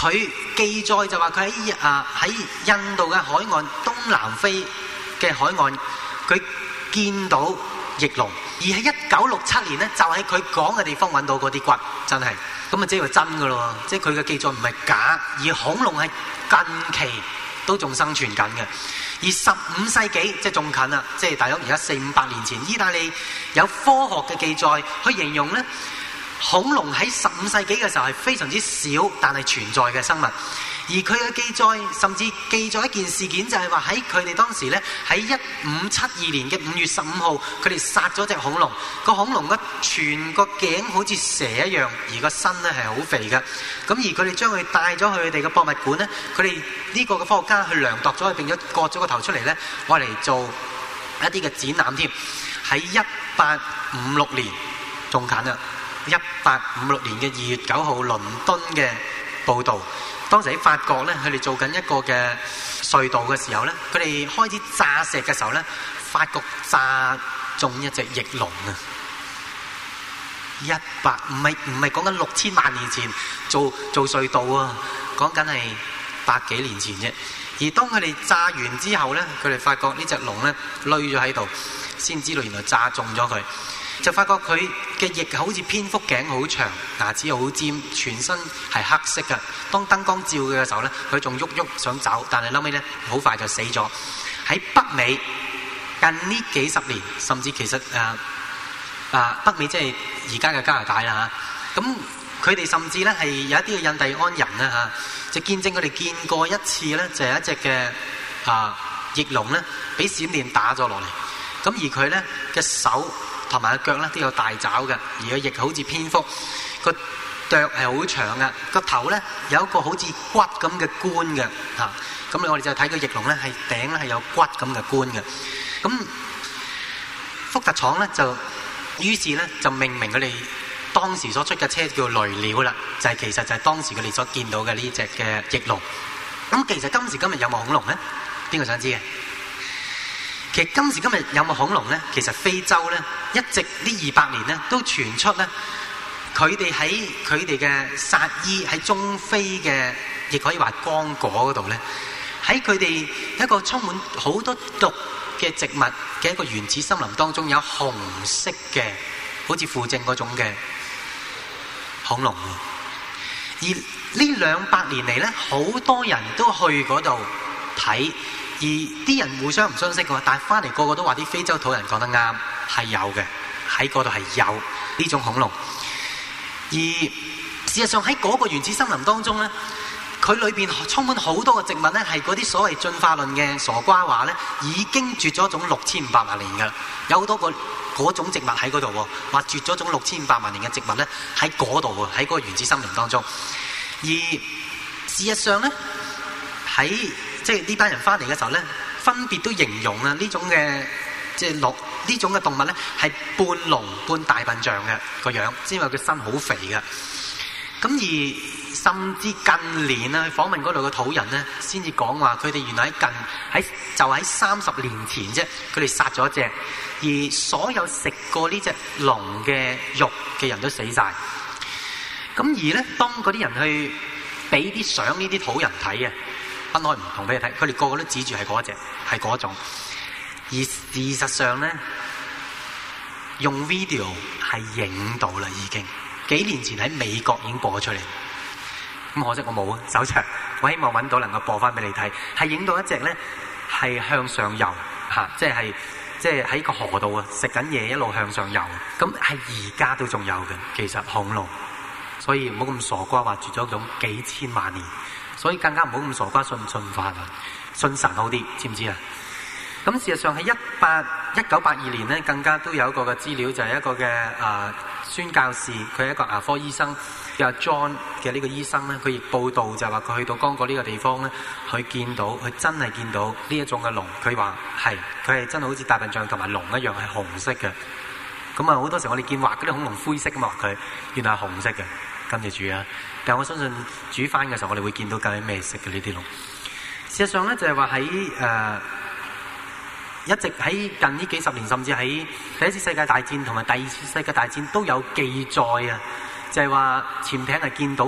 佢記載就話佢喺啊喺印度嘅海岸、東南非嘅海岸，佢見到翼龍。而喺一九六七年咧，就喺佢講嘅地方揾到嗰啲骨，真係咁啊！即係話真㗎咯，即係佢嘅記載唔係假，而恐龍係近期都仲生存緊嘅。而十五世紀即係仲近啦，即係大約而家四五百年前，意大利有科學嘅記載去形容咧，恐龍喺十五世紀嘅時候係非常之少，但係存在嘅生物。而佢嘅記載甚至記載一件事件，就係話喺佢哋當時咧，喺一五七二年嘅五月十五號，佢哋殺咗隻恐龍。個恐龍嘅全個頸好似蛇一樣，而個身咧係好肥嘅。咁而佢哋將佢帶咗去佢哋嘅博物館咧，佢哋呢個嘅科學家去量度咗佢，並且割咗個頭出嚟咧，攞嚟做一啲嘅展覽添。喺一八五六年仲近啦，一八五六年嘅二月九號，倫敦嘅報導。當時喺法國咧，佢哋做緊一個嘅隧道嘅時候咧，佢哋開始炸石嘅時候咧，法國炸中一隻翼龍啊！一百唔係唔係講緊六千萬年前做做隧道啊，講緊係百幾年前啫。而當佢哋炸完之後咧，佢哋發覺呢隻龍咧累咗喺度，先知道原來炸中咗佢。就發覺佢嘅翼好似蝙蝠，頸好長，牙齒好尖，全身係黑色嘅。當燈光照佢嘅時候咧，佢仲喐喐想走，但係後尾咧好快就死咗。喺北美近呢幾十年，甚至其實誒啊、呃、北美即係而家嘅加拿大啦嚇。咁佢哋甚至咧係有一啲嘅印第安人咧嚇，就見證佢哋見過一次咧，就係一隻嘅啊翼龍咧，俾閃電打咗落嚟。咁而佢咧嘅手同埋個腳咧都有大爪嘅，而個翼好似蝙蝠，個腳係好長嘅，個頭咧有一個好似骨咁嘅冠嘅嚇。咁我哋就睇個翼龍咧係頂咧係有骨咁嘅冠嘅。咁福特廠咧就於是咧就命名佢哋當時所出嘅車叫雷鳥啦，就係、是、其實就係當時佢哋所見到嘅呢隻嘅翼龍。咁其實今時今日有冇恐龍咧？邊個想知嘅？其實今時今日有冇恐龍咧？其實非洲咧一直呢二百年咧都傳出咧，佢哋喺佢哋嘅薩伊喺中非嘅，亦可以話剛果嗰度咧，喺佢哋一個充滿好多毒嘅植物嘅一個原始森林當中，有紅色嘅好似附正嗰種嘅恐龍。而呢兩百年嚟咧，好多人都去嗰度睇。而啲人互相唔相識嘅，但係翻嚟個個都話啲非洲土人講得啱，係有嘅，喺嗰度係有呢種恐龍。而事實上喺嗰個原始森林當中咧，佢裏邊充滿好多嘅植物咧，係嗰啲所謂進化論嘅傻瓜話咧，已經絕咗種六千五百萬年㗎。有好多個嗰種植物喺嗰度喎，話絕咗種六千五百萬年嘅植物咧喺嗰度喎，喺嗰個原始森林當中。而事實上咧喺即係呢班人翻嚟嘅時候咧，分別都形容啊呢種嘅即係鹿呢種嘅動物咧係半龍半大笨象嘅個樣，因為佢身好肥嘅。咁而甚至近年啊，去訪問嗰度嘅土人咧，先至講話佢哋原來喺近喺就喺三十年前啫，佢哋殺咗一隻，而所有食過呢隻龍嘅肉嘅人都死晒。咁而咧，當嗰啲人去俾啲相呢啲土人睇啊，分開唔同俾佢睇，佢哋個個都指住係嗰隻，係嗰種。而事實上咧，用 video 係影到啦，已經幾年前喺美國已經播咗出嚟。咁可惜我冇啊，手長。我希望揾到能夠播翻俾你睇，係影到一隻咧係向上游嚇，即係即係喺個河度啊，食緊嘢一路向上游。咁係而家都仲有嘅，其實恐龍。所以唔好咁傻瓜話絕咗種幾千萬年，所以更加唔好咁傻瓜信唔信法啊，信神好啲，知唔知啊？咁事實上喺一八一九八二年咧，更加都有一個嘅資料，就係、是、一個嘅啊、呃、宣教士，佢係一個牙科醫生，叫 John 嘅呢個醫生咧，佢亦報道就係話佢去到剛果呢個地方咧，佢見到佢真係見到呢一種嘅龍，佢話係佢係真係好似大笨象同埋龍一樣係紅色嘅。咁啊好多時我哋見畫嗰啲恐龍灰色咁話佢，原來係紅色嘅。跟住煮啊！但係我相信煮翻嘅時候，我哋會見到究竟咩色嘅呢啲龍。事實上咧，就係話喺誒一直喺近呢幾十年，甚至喺第一次世界大戰同埋第二次世界大戰都有記載啊！就係話潛艇係見到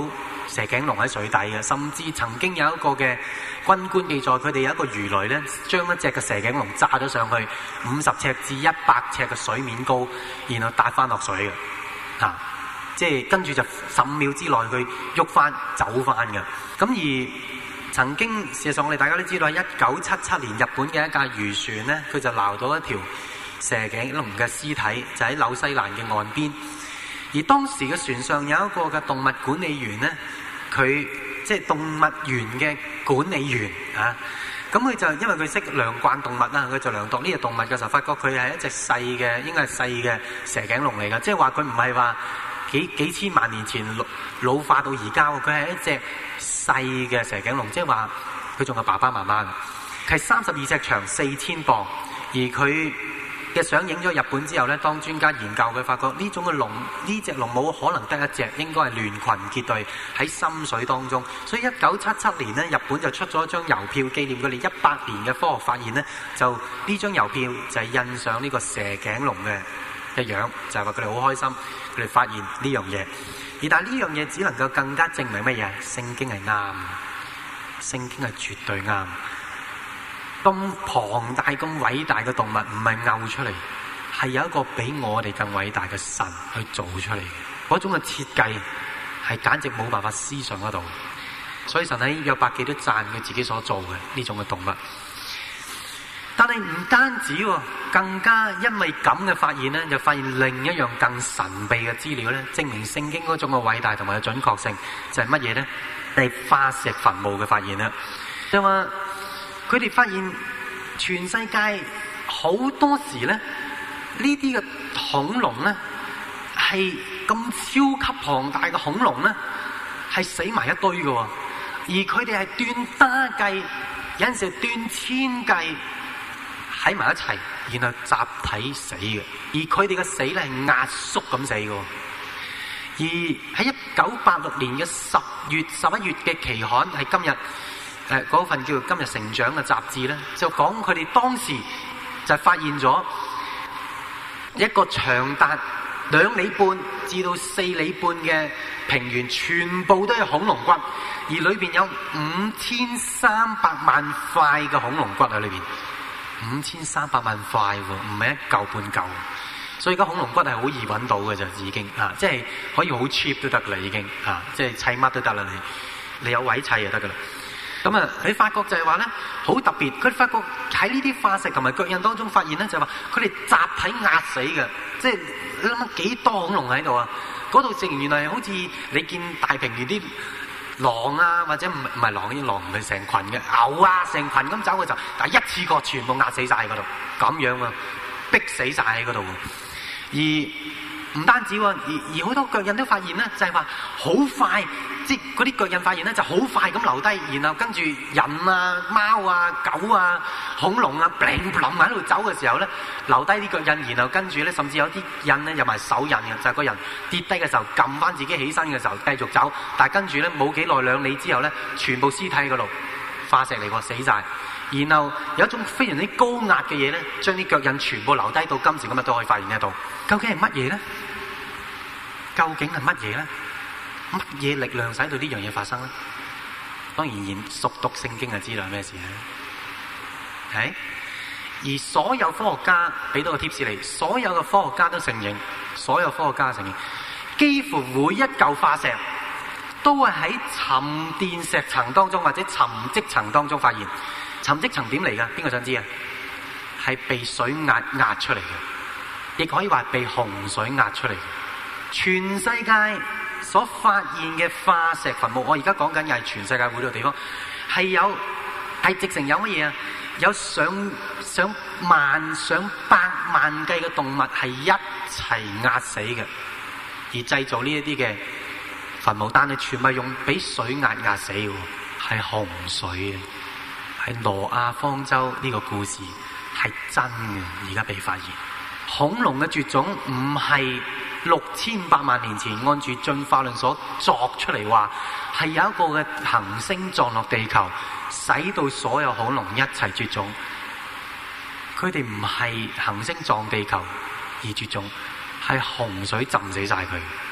蛇頸龍喺水底嘅，甚至曾經有一個嘅軍官記載，佢哋有一個魚雷咧，將一隻嘅蛇頸龍炸咗上去五十尺至一百尺嘅水面高，然後搭翻落水嘅，嚇、啊，即係跟住就十五秒之內佢喐翻走翻嘅。咁而曾經事實上我哋大家都知道，喺一九七七年日本嘅一架漁船咧，佢就撈到一條蛇頸龍嘅屍體，就喺紐西蘭嘅岸邊。而當時嘅船上有一個嘅動物管理員咧，佢即係動物園嘅管理員啊。咁佢就因為佢識量慣動物啦，佢就量度呢隻動物嘅時候，發覺佢係一隻細嘅，應該係細嘅蛇頸龍嚟㗎。即係話佢唔係話幾幾千萬年前老老化到而家，佢係一隻細嘅蛇頸龍，即係話佢仲有爸爸媽媽嘅，係三十二尺長，四千磅，而佢嘅相影咗日本之後咧，當專家研究佢發覺呢種嘅龍，呢隻龍冇可能得一隻，應該係聯群結隊喺深水當中。所以一九七七年咧，日本就出咗一張郵票紀念佢哋一百年嘅科學發現咧，就呢張郵票就係印上呢個蛇頸龍嘅嘅樣，就係話佢哋好開心，佢哋發現呢樣嘢。而但係呢樣嘢只能夠更加證明乜嘢？聖經係啱，聖經係絕對啱。咁龐大、咁偉大嘅動物唔係拗出嚟，係有一個比我哋更偉大嘅神去做出嚟嘅。嗰種嘅設計係簡直冇辦法思想得到。所以神喺約伯記都讚佢自己所做嘅呢種嘅動物。但係唔單止喎，更加因為咁嘅發現咧，就發現另一樣更神秘嘅資料咧，證明聖經嗰種嘅偉大同埋嘅準確性就係乜嘢咧？係化石墳墓嘅發現啦。就話佢哋發現全世界好多時咧，呢啲嘅恐龍咧係咁超級龐大嘅恐龍咧，係死埋一堆嘅，而佢哋係斷打計，有陣時斷千計喺埋一齊，然後集體死嘅。而佢哋嘅死咧係壓縮咁死嘅。而喺一九八六年嘅十月十一月嘅期刊係今日。誒嗰份叫做《今日成長》嘅雜誌咧，就講佢哋當時就發現咗一個長達兩里半至到四里半嘅平原，全部都係恐龍骨，而裏邊有五千三百萬塊嘅恐龍骨喺裏邊，五千三百萬塊喎，唔係一嚿半嚿。所以而家恐龍骨係好易揾到嘅就已經啊，即係可以好 cheap 都得啦，已經啊，即係砌乜都得啦，你你有位砌就得噶啦。咁啊，你發覺就係話咧，好特別。佢發覺喺呢啲化石同埋腳印當中發現咧，就係話佢哋集體壓死嘅，即係你諗下幾多恐龍喺度啊？嗰度正原來好似你見大平原啲狼啊，或者唔唔係狼，啲狼唔係成群嘅牛啊，成群咁走嘅時候，但係一次過全部壓死晒喺嗰度，咁樣啊，逼死晒喺嗰度。而唔單止喎，而而好多腳印都發現咧，就係話好快，即係嗰啲腳印發現咧就好快咁留低，然後跟住人啊、貓啊、狗啊、恐龍啊，bling bling喺度走嘅時候咧，留低啲腳印，然後跟住咧，甚至有啲印咧有埋手印嘅，就係個人跌低嘅時候撳翻自己起身嘅時候繼續走，但係跟住咧冇幾耐兩里之後咧，全部屍體喺嗰度化石嚟過死晒。然後有一種非常之高壓嘅嘢咧，將啲腳印全部留低到今時今日都可以發現得到。究竟係乜嘢咧？究竟係乜嘢咧？乜嘢力量使到呢樣嘢發生咧？當然，然熟讀聖經就知道係咩事咧。係，而所有科學家俾到個貼士嚟，所有嘅科學家都承認，所有科學家都承認，幾乎每一嚿化石都係喺沉澱石層當中或者沉積層當中發現。沉積層點嚟㗎？邊個想知啊？係被水壓壓出嚟嘅，亦可以話被洪水壓出嚟嘅。全世界所發現嘅化石墳墓，我而家講緊又係全世界每個地方，係有係直情有乜嘢啊？有上上萬上百萬計嘅動物係一齊壓死嘅，而製造呢一啲嘅墳墓，但係全部用俾水壓壓死嘅，係洪水啊！係挪亞方舟呢個故事係真嘅，而家被發現。恐龍嘅絕種唔係六千百萬年前按住進化論所作出嚟話，係有一個嘅行星撞落地球，使到所有恐龍一齊絕種。佢哋唔係行星撞地球而絕種，係洪水浸死晒佢。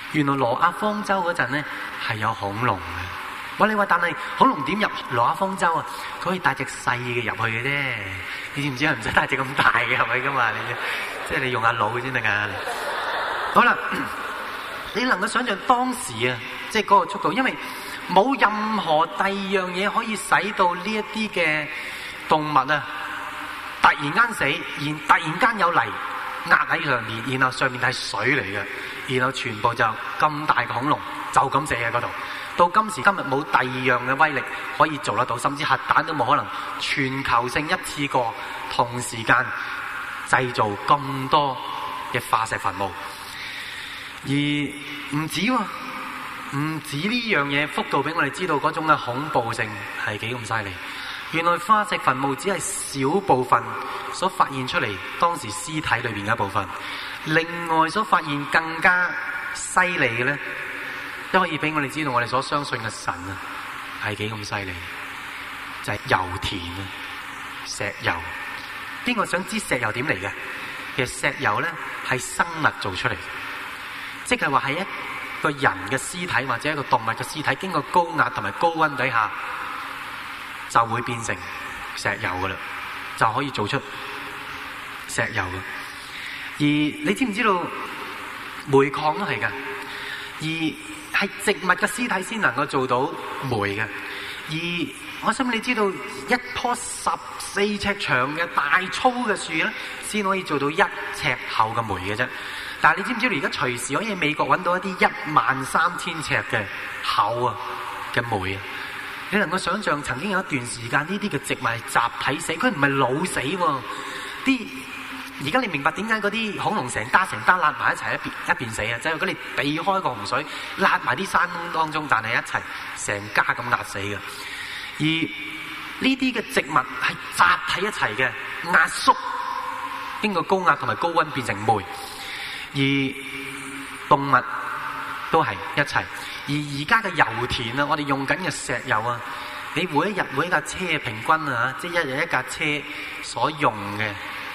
原來挪亞方舟嗰陣咧係有恐龍嘅。我你話，但係恐龍點入挪亞方舟啊？佢可以帶隻細嘅入去嘅啫。你知唔知係唔使帶隻咁大嘅入去噶嘛？你即係你用下腦先得㗎。好啦，你能夠想象當時啊，即係嗰個速度，因為冇任何第二樣嘢可以使到呢一啲嘅動物啊突然間死，然突然間有泥壓喺上面，然後上面係水嚟嘅，然後全部就咁大嘅恐龍就咁死喺嗰度。到今時今日冇第二樣嘅威力可以做得到，甚至核彈都冇可能全球性一次過同時間製造咁多嘅化石墳墓。而唔止喎，唔止呢樣嘢幅度俾我哋知道嗰種嘅恐怖性係幾咁犀利。原來化石墳墓只係小部分所發現出嚟當時屍體裏面嘅一部分，另外所發現更加犀利嘅咧，都可以俾我哋知道我哋所相信嘅神啊係幾咁犀利，就係油田啊，石油。邊個想知石油點嚟嘅？其實石油咧係生物做出嚟嘅，即係話係一個人嘅屍體或者一個動物嘅屍體經過高壓同埋高溫底下就會變成石油噶啦，就可以做出石油嘅。而你知唔知道煤礦都係噶？而係植物嘅屍體先能夠做到煤嘅。而我想你知道一棵十四尺長嘅大粗嘅樹咧，先可以做到一尺厚嘅煤嘅啫。但係你知唔知道而家隨時可以喺美國揾到一啲一萬三千尺嘅厚啊嘅煤啊？你能夠想象曾經有一段時間呢啲嘅植物係集體死，佢唔係老死喎。啲而家你明白點解嗰啲恐龍成單成單揦埋一齊一邊一邊死啊？就係佢哋避開個洪水，揦埋啲山窿當中，但係一齊成家咁壓死嘅。而呢啲嘅植物係集體一齊嘅壓縮，經過高壓同埋高溫變成煤。而動物都係一齊。而而家嘅油田啊，我哋用緊嘅石油啊，你每一日每一架車平均啊，即係一日一架車所用嘅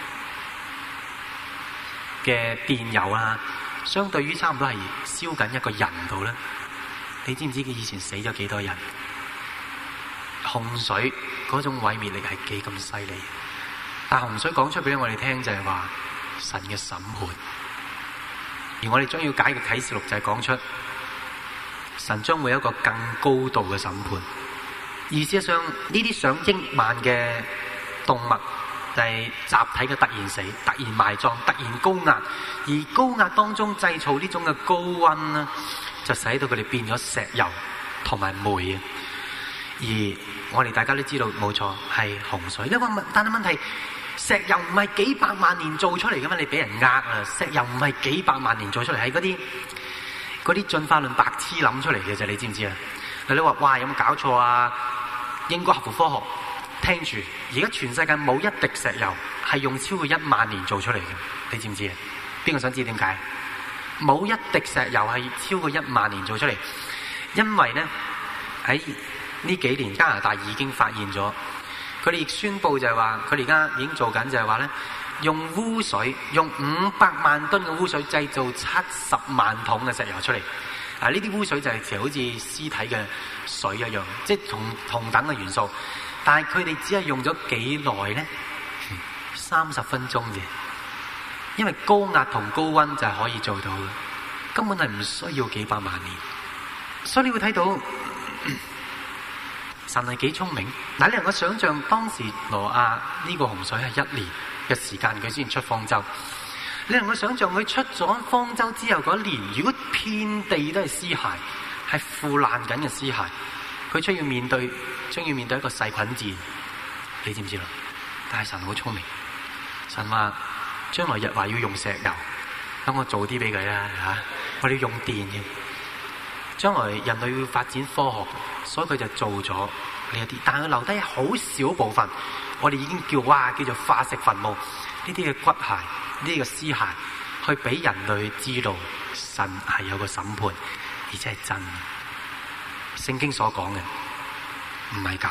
嘅電油啊，相對於差唔多係燒緊一個人度咧。你知唔知佢以前死咗幾多人？洪水嗰種毀滅力係幾咁犀利？但洪水講出俾我哋聽就係話神嘅審判，而我哋將要解嘅啟示錄就係講出神將會有一個更高度嘅審判。而事實上呢啲上億萬嘅動物就係集體嘅突然死、突然埋葬、突然高壓，而高壓當中製造呢種嘅高溫呢，就使到佢哋變咗石油同埋煤啊！而我哋大家都知道冇錯係洪水，因為但係問題，石油唔係幾百萬年做出嚟噶嘛？你俾人呃啊！石油唔係幾百萬年做出嚟，係嗰啲嗰啲進化論白痴諗出嚟嘅啫，你知唔知啊？你話哇有冇搞錯啊？應該合乎科學。聽住，而家全世界冇一滴石油係用超過一萬年做出嚟嘅，你知唔知啊？邊個想知點解？冇一滴石油係超過一萬年做出嚟，因為咧喺呢幾年加拿大已經發現咗，佢哋亦宣布就係話，佢哋而家已經做緊就係話咧，用污水，用五百萬噸嘅污水製造七十萬桶嘅石油出嚟。啊！呢啲污水就係其實好似屍體嘅水一樣，即係同同等嘅元素。但係佢哋只係用咗幾耐咧？三十分鐘啫。因為高壓同高溫就係可以做到嘅，根本係唔需要幾百萬年。所以你會睇到神係幾聰明。嗱，你能夠想象當時挪亞呢個洪水係一年嘅時間佢先出方舟。你能夠想象佢出咗方舟之後嗰一年，如果遍地都係屍骸，係腐爛緊嘅屍骸，佢將要面對，將要面對一個細菌戰，你知唔知啦？但係神好聰明，神話將來日話要用石油，等我做啲俾佢啦吓，我哋要用電嘅。將來人類要發展科學，所以佢就做咗呢一啲，但係佢留低好少部分，我哋已經叫哇叫做化石墳墓呢啲嘅骨骸。呢個屍骸去俾人類知道神係有個審判，而且係真嘅。聖經所講嘅唔係假。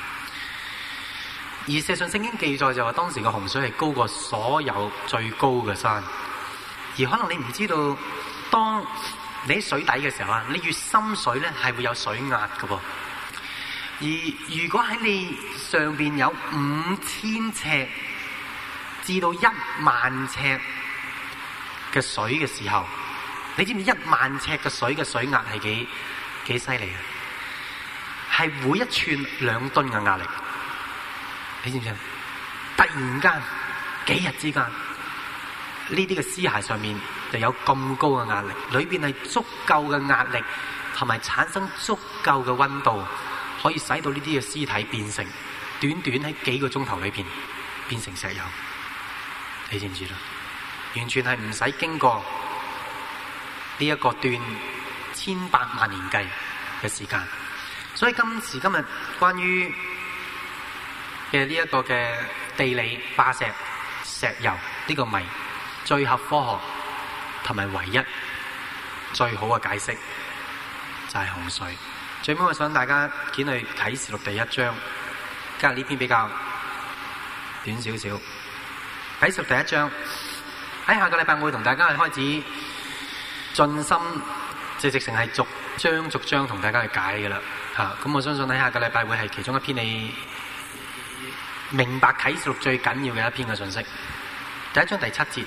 而事實上聖經記載就話當時嘅洪水係高過所有最高嘅山。而可能你唔知道，當你喺水底嘅時候啊，你越深水咧係會有水壓㗎噃。而如果喺你上邊有五千尺至到一萬尺嘅水嘅時候，你知唔知一萬尺嘅水嘅水壓係幾幾犀利啊？係每一寸兩噸嘅壓力，你知唔知啊？突然間幾日之間，呢啲嘅屍骸上面就有咁高嘅壓力，裏邊係足夠嘅壓力，同埋產生足夠嘅溫度，可以使到呢啲嘅屍體變成短短喺幾個鐘頭裏邊變成石油。你知唔知啦？完全係唔使經過呢一個段千百萬年計嘅時間。所以今時今日關於嘅呢一個嘅地理化石石油呢個謎，最合科學同埋唯一最好嘅解釋就係洪水。最尾我想大家見去啟示錄第一章，今日呢篇比較短少少。啟示錄第一章喺下個禮拜我會同大家去開始盡心，即係直情係逐章逐章同大家去解嘅啦。嚇、啊，咁我相信喺下個禮拜會係其中一篇你明白啟示錄最緊要嘅一篇嘅信息。第一章第七節，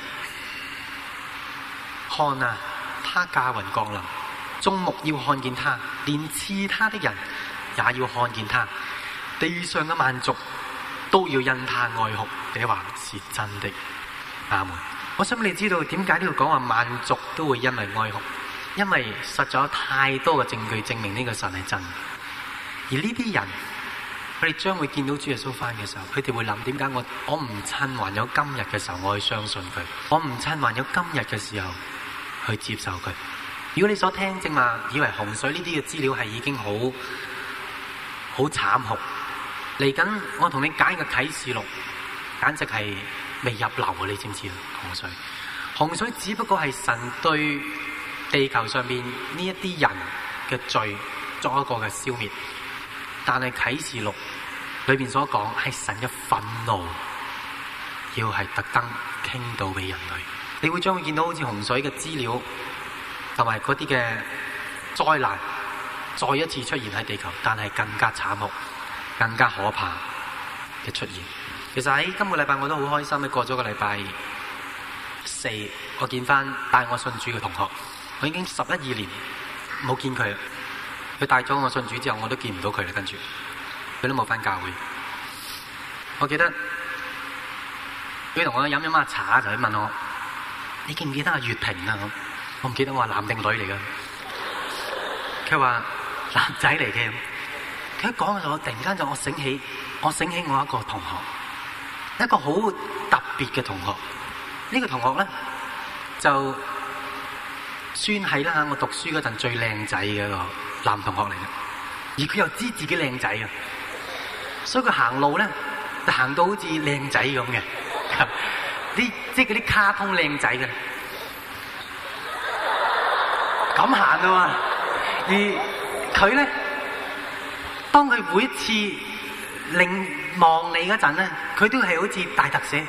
看啊，他駕雲降臨，眾目要看見他，連刺他的人也要看見他，地上嘅萬族都要因他哀哭。這話是真的。阿門。我想你知道點解呢度講話萬族都會因為哀哭？因為實在有太多嘅證據證明呢個神係真。而呢啲人，佢哋將會見到主耶穌翻嘅時候，佢哋會諗：點解我我唔趁還有今日嘅時候我去相信佢？我唔趁還有今日嘅時候去接受佢？如果你所聽正話以為洪水呢啲嘅資料係已經好好慘酷，嚟緊我同你解嘅啟示錄，簡直係未入流啊！你知唔知啊？洪水，洪水只不過係神對地球上面呢一啲人嘅罪作一個嘅消滅，但係啟示錄裏邊所講係神嘅憤怒，要係特登傾到俾人類。你會將會見到好似洪水嘅資料同埋嗰啲嘅災難再一次出現喺地球，但係更加慘酷、更加可怕嘅出現。其實喺今個禮拜我都好開心，過咗個禮拜四，我見翻帶我信主嘅同學，我已經十一二年冇見佢。佢帶咗我信主之後，我都見唔到佢啦。跟住佢都冇翻教會。我記得佢同我飲飲下茶，就去問我：你記唔記得阿月平啊？我唔記得，我話男定女嚟噶。佢話男仔嚟嘅。佢一講嘅時候，我突然間就我醒起，我醒起我一個同學，一個好特別嘅同學。呢個同學咧就算係啦嚇，我讀書嗰陣最靚仔嘅一個男同學嚟嘅，而佢又知自己靚仔啊，所以佢行路咧就行到好似靚仔咁嘅，啲即係嗰啲卡通靚仔嘅，咁行啊嘛。而佢咧，當佢每一次擰望你嗰陣咧，佢都係好似大特寫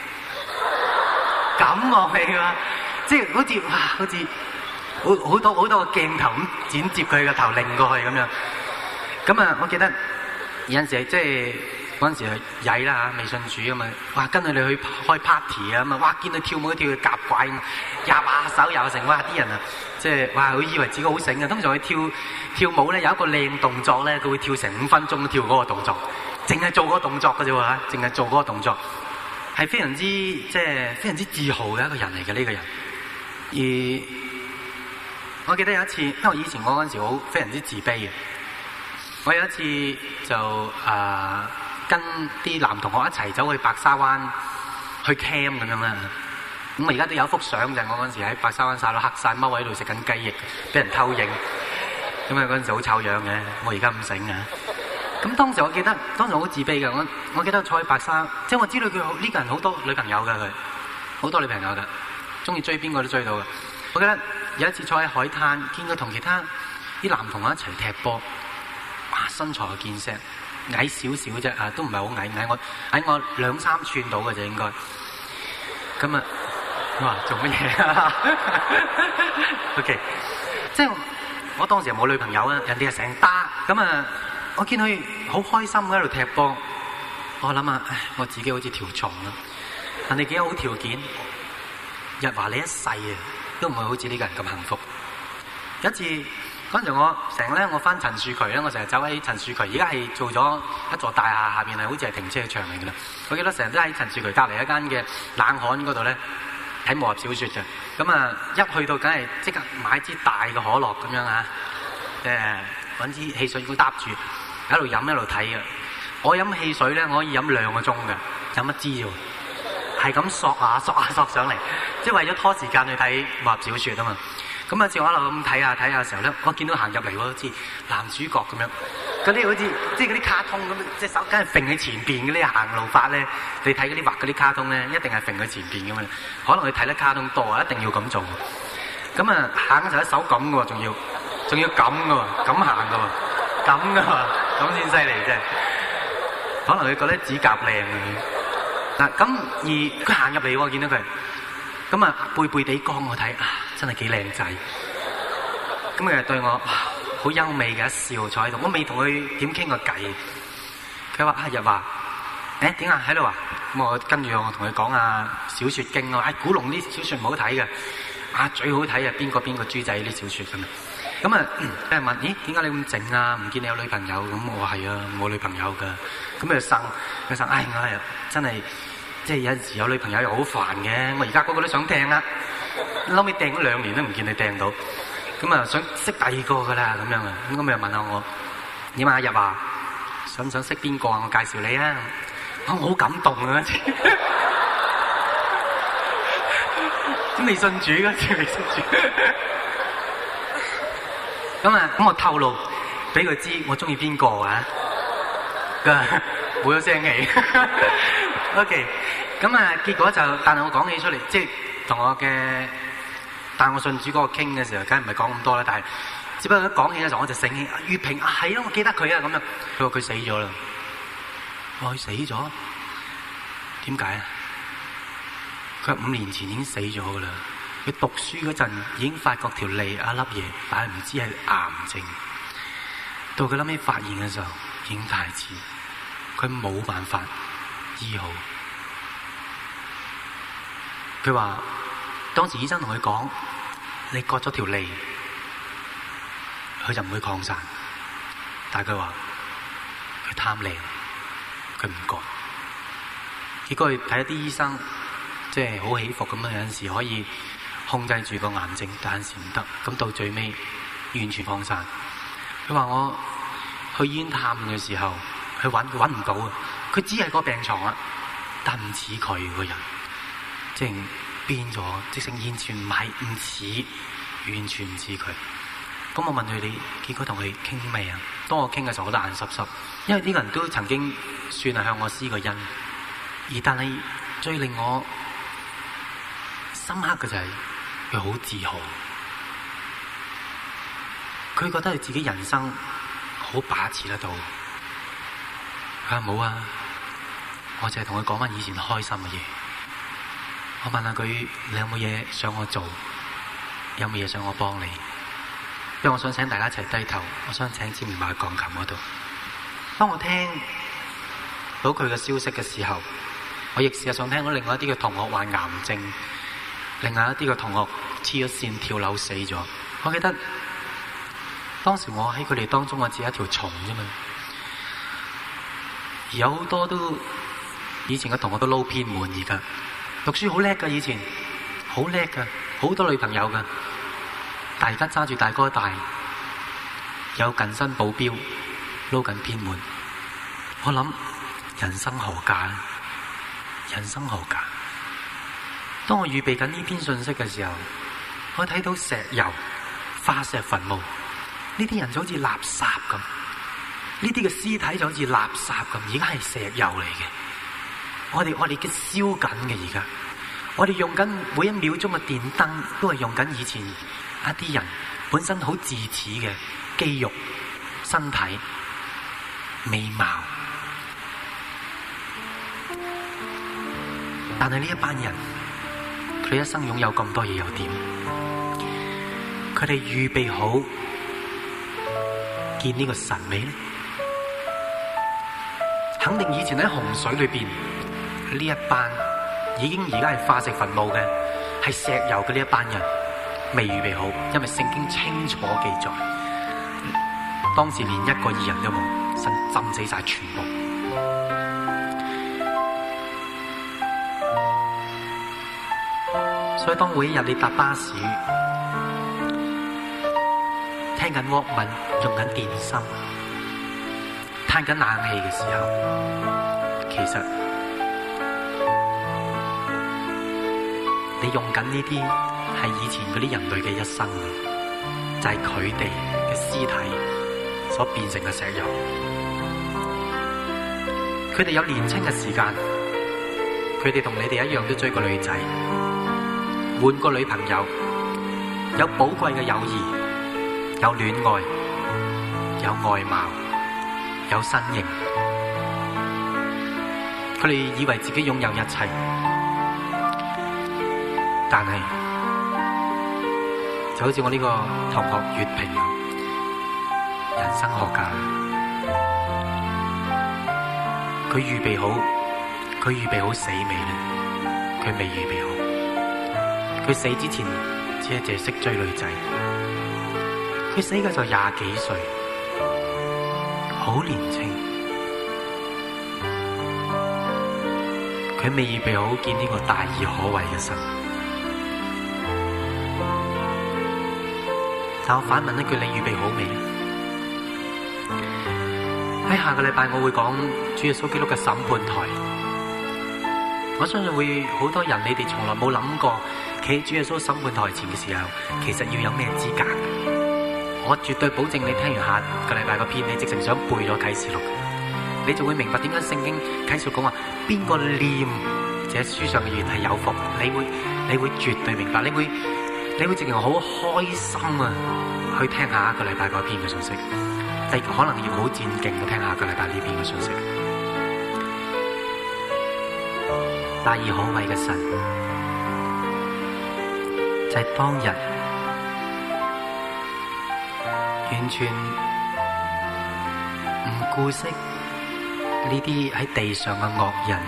咁望你㗎，即係好似哇，好似好好多好多個鏡頭咁剪接佢個頭擰過去咁樣。咁啊，我記得有陣時即係嗰陣時係曳啦嚇，未信主啊嘛，哇跟住你去開 party 啊嘛，哇見佢跳舞跳佢夾怪咁，廿把手又成，哇啲人啊即係哇佢以為自己好醒啊。通常佢跳跳舞咧有一個靚動作咧，佢會跳成五分鐘都跳嗰個動作，淨係做嗰個動作嘅啫喎嚇，淨係做嗰個動作，係非常之即係非常之自豪嘅一個人嚟嘅呢個人。而我記得有一次，因為以前我嗰陣時好非常之自卑嘅，我有一次就誒、呃、跟啲男同學一齊走去白沙灣去 camp 咁樣啦。咁我而家都有一幅相，就係我嗰陣時喺白沙灣曬到黑晒，踎喺度食緊雞翼，俾人偷影。咁啊嗰陣時好醜樣嘅，我而家唔醒啊。咁當時我記得，當時我好自卑嘅。我我記得坐喺白沙，即係我知道佢呢個人好多女朋友嘅，佢好多女朋友嘅，中意追邊個都追到嘅。我記得有一次坐喺海灘，見佢同其他啲男同學一齊踢波，哇身材健碩，矮少少啫啊，都唔係好矮，矮我矮我兩三寸到嘅啫應該。咁啊，哇做乜嘢啊？OK， 即係我當時又冇女朋友啊，人哋係成打咁啊！我見佢好開心喺度踢波，我諗啊，唉，我自己好似條蟲啦。人哋幾有好條件，日華你一世啊，都唔會好似呢個人咁幸福。有一次嗰陣時我成日咧，我翻陳樹渠咧，我成日走喺陳樹渠，而家係做咗一座大廈，下邊係好似係停車場嚟㗎啦。我記得成日都喺陳樹渠隔離一間嘅冷巷嗰度咧睇武俠小説嘅。咁啊，一去到梗係即刻買支大嘅可樂咁樣啊，誒揾支汽水罐搭住喺度飲，喺度睇嘅。我飲汽水咧，我可以飲兩個鐘嘅，飲一支啫喎，係咁索下索下索上嚟，即係為咗拖時間去睇武俠小説啊嘛。咁啊，照我一路咁睇下睇下嘅時候咧，我見到行入嚟喎，好似男主角咁樣，嗰啲好似即係嗰啲卡通咁，隻手梗係揈喺前邊嗰啲行路法咧。你睇嗰啲畫嗰啲卡通咧，一定係揈喺前邊咁樣。可能佢睇得卡通多啊，一定要咁做。咁啊，行嘅時候一手咁嘅喎，仲要仲要咁嘅喎，咁行嘅喎，咁嘅喎，咁先犀利啫。可能佢覺得指甲靚啊。嗱，咁而佢行入嚟喎，見到佢。咁啊，背背地光我睇啊，真係幾靚仔。咁佢就對我好優美嘅一笑，坐喺度。我未同佢點傾過偈。佢話：啊，日華，誒點啊？喺度啊？咁我跟住我同佢講啊，小説經啊，誒古龍啲小説唔好睇嘅，啊最好睇啊邊個邊個豬仔啲小説咁啊。咁啊，俾人問：咦，點解你咁靜啊？唔見你有女朋友？咁我話係啊，冇女朋友㗎。咁佢就呻，佢呻，唉，我係真係。即係有陣時有女朋友又好煩嘅，我而家個個都想掟啦，後尾掟咗兩年都唔見你掟到，咁啊想識第二個噶啦咁樣啊，咁咁又問下我，點啊日華，想唔想識邊個啊？我介紹你啊，我好感動啊！咁未信主嗰時未信主，咁啊咁我透露俾佢知我中意邊個啊？冇咗聲氣。OK， 咁啊，結果就，但係我講起出嚟，即係同我嘅帶我信主嗰個傾嘅時候，梗係唔係講咁多啦。但係只不過一講起嘅時候，我就醒起月平啊，係咯，我記得佢啊，咁樣。佢話佢死咗啦。我話佢死咗？點解啊？佢話五年前已經死咗噶啦。佢讀書嗰陣已經發覺條脷一粒嘢，但係唔知係癌症。到佢後尾發現嘅時候，已經太遲，佢冇辦法醫好。佢話當時醫生同佢講：你割咗條脷，佢就唔會擴散。但係佢話佢貪靚，佢唔割。結果去睇一啲醫生，即係好起伏咁樣，有陣時可以控制住個癌症，但有陣時唔得。咁到最尾完全擴散。佢話我去醫院探嘅時候，去揾佢揾唔到啊！佢只係個病床啦，但唔似佢個人，即係變咗，即係完全唔係唔似，完全唔似佢。咁我問佢：你結果同佢傾未啊？當我傾嘅時候，我都眼濕濕，因為呢個人都曾經算係向我施過恩，而但係最令我深刻嘅就係佢好自豪，佢覺得佢自己人生好把持得到。佢話冇啊，我淨係同佢講翻以前開心嘅嘢。我問下佢：你有冇嘢想我做？有冇嘢想我幫你？因為我想請大家一齊低頭，我想請志明埋鋼琴嗰度。當我聽到佢嘅消息嘅時候，我亦事實上聽到另外一啲嘅同學患癌症，另外一啲嘅同學黐咗線跳樓死咗。我記得當時我喺佢哋當中，我只係一條蟲啫嘛。而有好多都以前嘅同學都撈偏門，而家讀書好叻噶，以前好叻噶，好多女朋友噶。但而家揸住大哥大，有近身保鏢，撈緊偏門。我諗人生何價？人生何價？當我預備緊呢篇信息嘅時候，我睇到石油、化石墳墓，呢啲人就好似垃圾咁，呢啲嘅屍體就好似垃圾咁，而家係石油嚟嘅。我哋我哋嘅燒緊嘅而家，我哋用緊每一秒鐘嘅電燈，都係用緊以前一啲人本身好自恃嘅肌肉、身體、美貌，但係呢一班人，佢一生擁有咁多嘢又點？ 佢哋預備好見呢個神未呢？肯定以前喺洪水裏邊呢一班已經而家係化石墳墓嘅，係石油嘅呢一班人未預備好，因為聖經清楚記載，當時連一個義人都冇，神浸死晒全部。所以當每一日你搭巴士，聽緊 Walkman，用緊電芯，嘆緊冷氣嘅時候，其實你用緊呢啲係以前嗰啲人類嘅一生，就係佢哋嘅屍體所變成嘅石油。佢哋有年輕嘅時間，佢哋同你哋一樣都追過女仔，換過女朋友，有寶貴嘅友誼，有戀愛，有外貌，有身形。佢哋以為自己擁有一切，但係就好似我呢個同學月平，人生學家，佢預備好，佢預備好死未呢？佢未預備好。佢死之前只係淨係識追女仔。佢死嘅就廿幾歲，好年輕。佢未預備好見呢個大而可畏嘅神。但我反問一句，你預備好未？喺下個禮拜我會講主耶穌基督嘅審判台。我相信會好多人，你哋從來冇諗過企喺主耶穌審判台前嘅時候，其實要有咩資格？我絕對保證你聽完下個禮拜個片，你直情想背咗啟示錄，你就會明白點解聖經啟示錄講話邊個念這書上嘅言係有福，你會你會絕對明白，你會你會直情好開心啊！去聽下一個禮拜嗰篇嘅信息，但可能要好戰勁去聽下個禮拜呢篇嘅信息。大而可畏嘅神，就係、是、當日完全唔顧惜呢啲喺地上嘅惡人，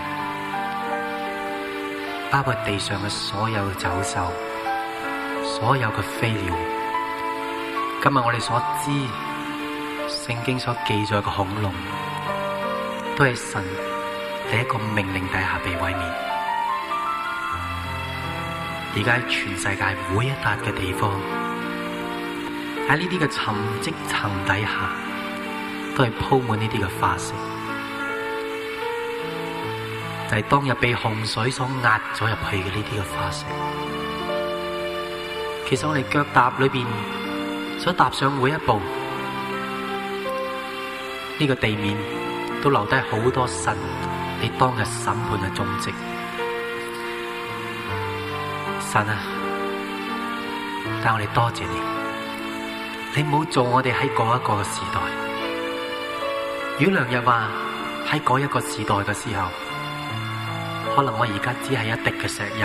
包括地上嘅所有嘅走獸、所有嘅飛鳥。今日我哋所知聖經所記載嘅恐龍，都係神喺一個命令底下被毀滅。而家喺全世界每一笪嘅地方，喺呢啲嘅沉積層底下，都係鋪滿呢啲嘅化石。就係、是、當日被洪水所壓咗入去嘅呢啲嘅化石。其實我哋腳踏裏邊所踏上每一步，呢、這個地面都留低好多神你當日審判嘅蹤跡。神啊，但我哋多謝你，你唔好做我哋喺嗰一個嘅時代。如果良日話喺嗰一個時代嘅時候，可能我而家只係一滴嘅石油，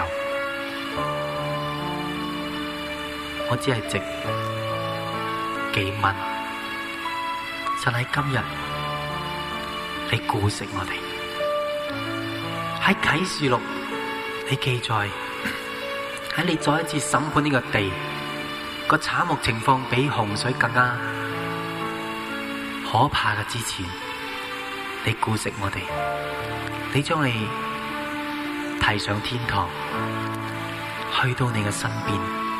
我只係值幾蚊。神喺今日，你顧惜我哋。喺啟示錄，你記載。喺你再一次審判呢個地個慘目情況比洪水更加可怕嘅之前，你顧惜我哋，你將你提上天堂，去到你嘅身邊。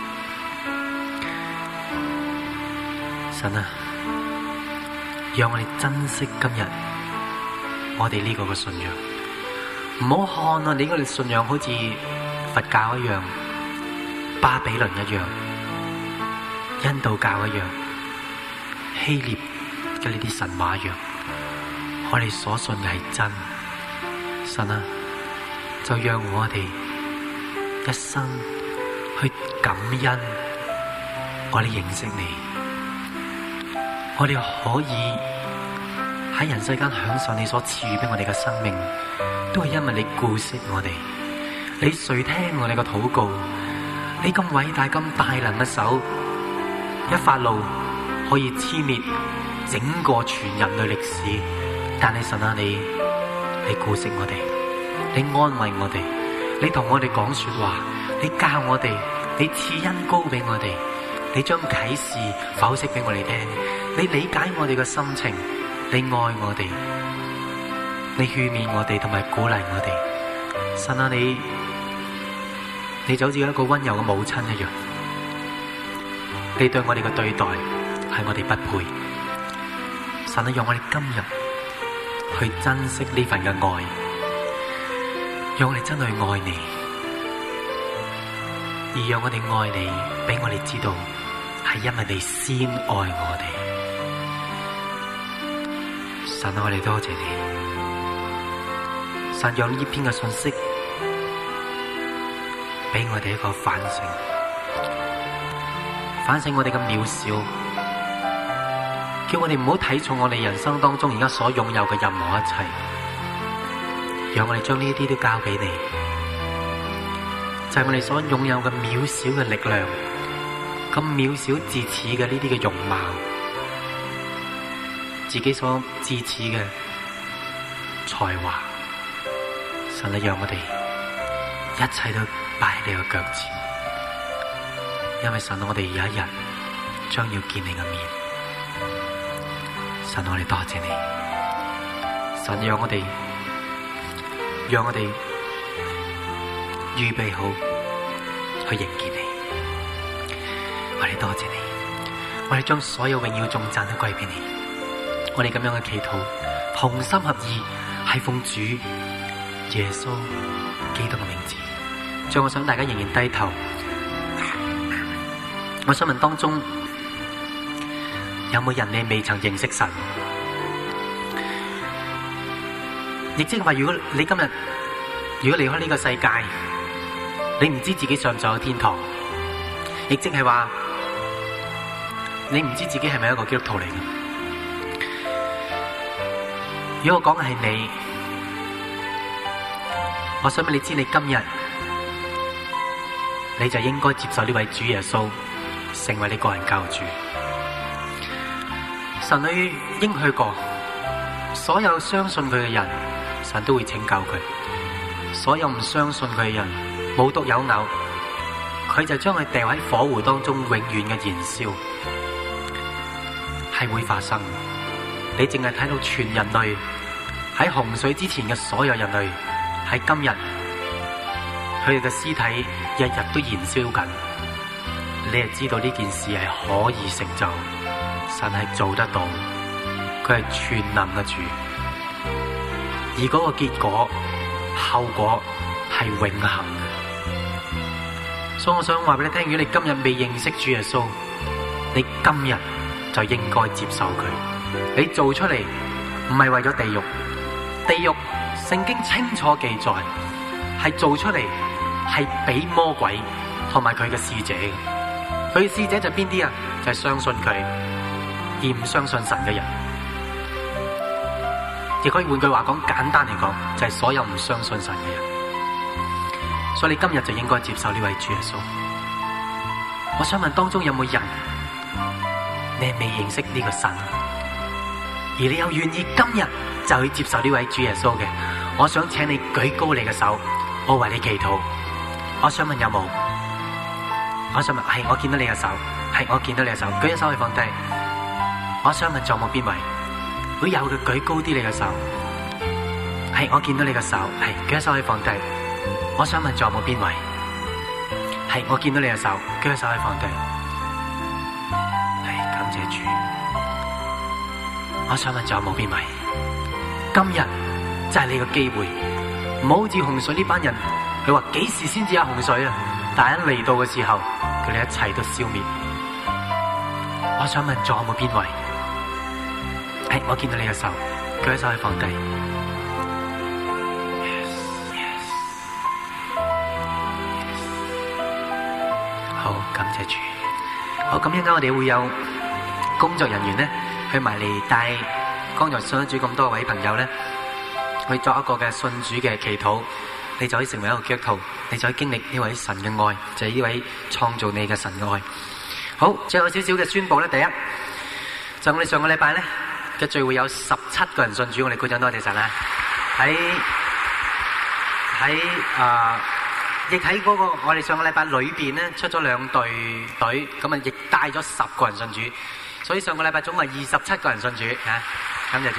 神啊，讓我哋珍惜今日我哋呢個嘅信仰，唔好看啊！你嗰個信仰好似佛教一樣，巴比倫一樣，印度教一樣，希臘嘅呢啲神話一樣，我哋所信嘅係真。神啊，就讓我哋一生去感恩，我哋認識你，我哋可以喺人世間享受你所賜予俾我哋嘅生命，都係因為你顧惜我哋，你垂聽我哋嘅禱告。你咁偉大咁大能嘅手， 一發怒可以殲滅整個全人類歷史，但係神啊，你你顧惜我哋，你安慰我哋，你同我哋講說話，你教我哋，你賜恩膏俾我哋，你將啟示剖析俾我哋聽，你理解我哋嘅心情，你愛我哋，你勸勉我哋同埋鼓勵我哋。神啊，你你就好似一個溫柔嘅母親一樣，你對我哋嘅對待係我哋不配。神啊，讓我哋今日去珍惜呢份嘅愛，讓我哋真去愛你，而讓我哋愛你，俾我哋知道係因為你先愛我哋。神啊，我哋多謝你。神讓呢篇嘅信息俾我哋一個反省，反省我哋嘅渺小，叫我哋唔好睇重我哋人生當中而家所擁有嘅任何一切，讓我哋將呢啲都交俾你，就係我哋所擁有嘅渺小嘅力量，咁渺小至此嘅呢啲嘅容貌，自己所至此嘅才華。神啊，讓我哋一切都擺喺你嘅腳前，因為神啊，我哋有一日將要見你嘅面。神啊，我哋多謝你。神讓我哋，讓我哋預備好去迎見你。我哋多謝你，我哋將所有榮耀頌讚都歸俾你。我哋咁樣嘅祈禱，同心合意，係奉主耶穌基督嘅名字。最後我想大家仍然低頭。我想問當中有冇人你未曾認識神？亦即係話，如果你今日如果離開呢個世界，你唔知自己上唔上天堂，亦即係話你唔知自己係咪一個基督徒嚟嘅。如果我講嘅係你，我想問你知，你今日你就應該接受呢位主耶穌成為你個人救主。神佢應許過，所有相信佢嘅人，神都會拯救佢；所有唔相信佢嘅人，無獨有偶，佢就將佢掉喺火湖當中，永遠嘅燃燒，係會發生。你淨係睇到全人類喺洪水之前嘅所有人類，喺今日佢哋嘅屍體日日都燃燒緊，你係知道呢件事係可以成就，神係做得到，佢係全能嘅主，而嗰個結果後果係永恆嘅。所以我想話俾你聽，如果你今日未認識主耶穌，你今日就應該接受佢。你做出嚟唔係為咗地獄，地獄聖經清楚記載係做出嚟係俾魔鬼同埋佢嘅使者嘅。佢嘅使者就邊啲啊？就係相信佢而唔相信神嘅人。亦可以換句話講，簡單嚟講，就係所有唔相信神嘅人。所以你今日就應該接受呢位主耶穌。我想問當中有冇人你係未認識呢個神，而你又願意今日就去接受呢位主耶穌嘅？我想請你舉高你嘅手，我為你祈禱。我想問有冇？我想問係，我見到你嘅手，係我見到你嘅手，舉一手可以放低。我想問仲有冇邊位？如果有嘅，舉高啲你嘅手。係我見到你嘅手，係舉一手可以放低。我想問仲有冇邊位？係我見到你嘅手，舉一手可以放低。係感謝主。我想問仲有冇邊位？今日就係你嘅機會，唔好好似洪水呢班人，佢話幾時先至有洪水啊？但係一嚟到嘅時候，佢哋一切都消滅。我想問仲有冇邊位？係我見到你嘅手，舉一手可以放低。Yes, yes. 好，感謝主。好，咁一陣間我哋會有工作人員咧去埋嚟帶剛才信主咁多位朋友咧去作一個嘅信主嘅祈禱，你就可以成為一個基督徒，你就可以經歷呢位神嘅愛，就係呢位創造你嘅神嘅愛。 好，最後少少嘅宣佈咧，第一就我哋上個禮拜咧嘅聚會有十七個人信主，我哋鼓掌多謝神啦！喺喺啊，亦喺嗰個我哋上個禮拜裏邊咧出咗兩隊隊，咁啊亦帶咗十個人信主，所以上個禮拜總共係二十七個人信主嚇，感謝主。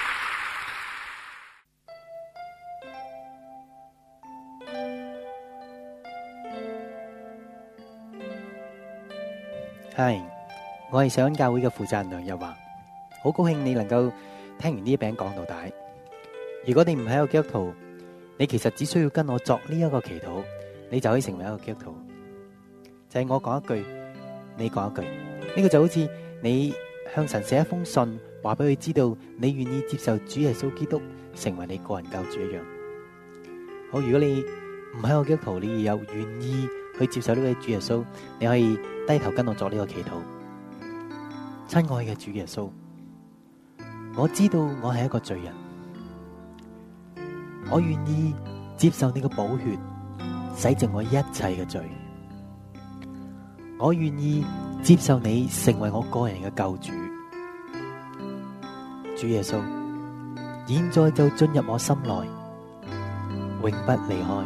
係，我係上恩教會嘅負責人梁日華，好高興你能夠聽完呢一餅講到底。如果你唔係一個基督徒，你其實只需要跟我作呢一個祈禱，你就可以成為一個基督徒。就係我講一句，你講一句，呢個就好似你向神寫一封信，話俾佢知道你願意接受主耶穌基督成為你個人救主一樣。好，如果你唔係一個基督徒，你又願意去接受呢位主耶穌，你可以低頭跟我作呢個祈禱。親愛嘅主耶穌，我知道我係一個罪人，我願意接受你嘅寶血洗淨我一切嘅罪，我願意接受你成為我個人嘅救主。主耶穌，現在就進入我心內，永不離開，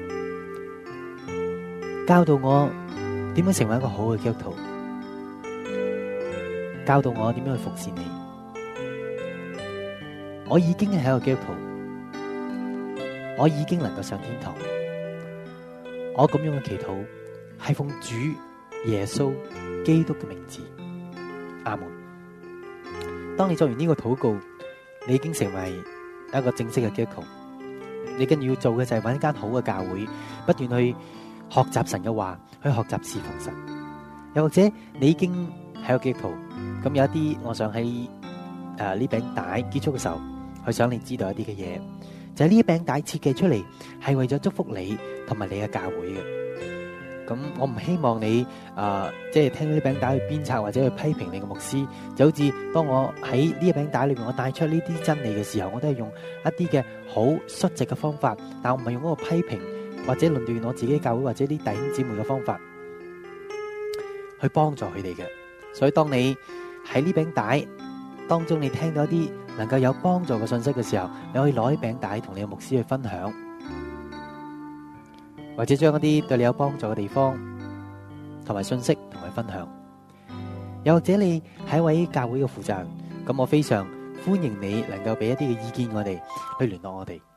教導我點樣成為一個好嘅基督徒，教導我點樣去服侍你。我已經係一個基督徒，我已經能夠上天堂。我咁樣嘅祈禱係奉主耶穌基督嘅名字，阿門。當你做完呢個禱告，你已經成為一個正式嘅基督徒。你跟住要做嘅就係揾一間好嘅教會，不斷去學習神嘅話，去學習侍奉神。又或者你已經係個基督徒，咁有一啲，我想喺誒呢餅帶結束嘅時候，去想你知道一啲嘅嘢，就係呢餅帶設計出嚟係為咗祝福你同埋你嘅教會嘅。咁我唔希望你誒、呃、即係聽呢餅帶去鞭策或者去批評你嘅牧師，就好似當我喺呢一餅帶裏面我帶出呢啲真理嘅時候，我都係用一啲嘅好率直嘅方法，但我唔係用嗰個批評或者論斷我自己教會或者啲弟兄姊妹嘅方法去幫助佢哋嘅。所以當你喺呢餅帶當中你聽到一啲能夠有幫助嘅信息嘅時候，你可以攞呢餅帶同你嘅牧師去分享，或者將一啲對你有幫助嘅地方同埋信息同佢分享。又或者你係一位教會嘅負責人，咁我非常歡迎你能夠俾一啲嘅意見我哋，去聯絡我哋。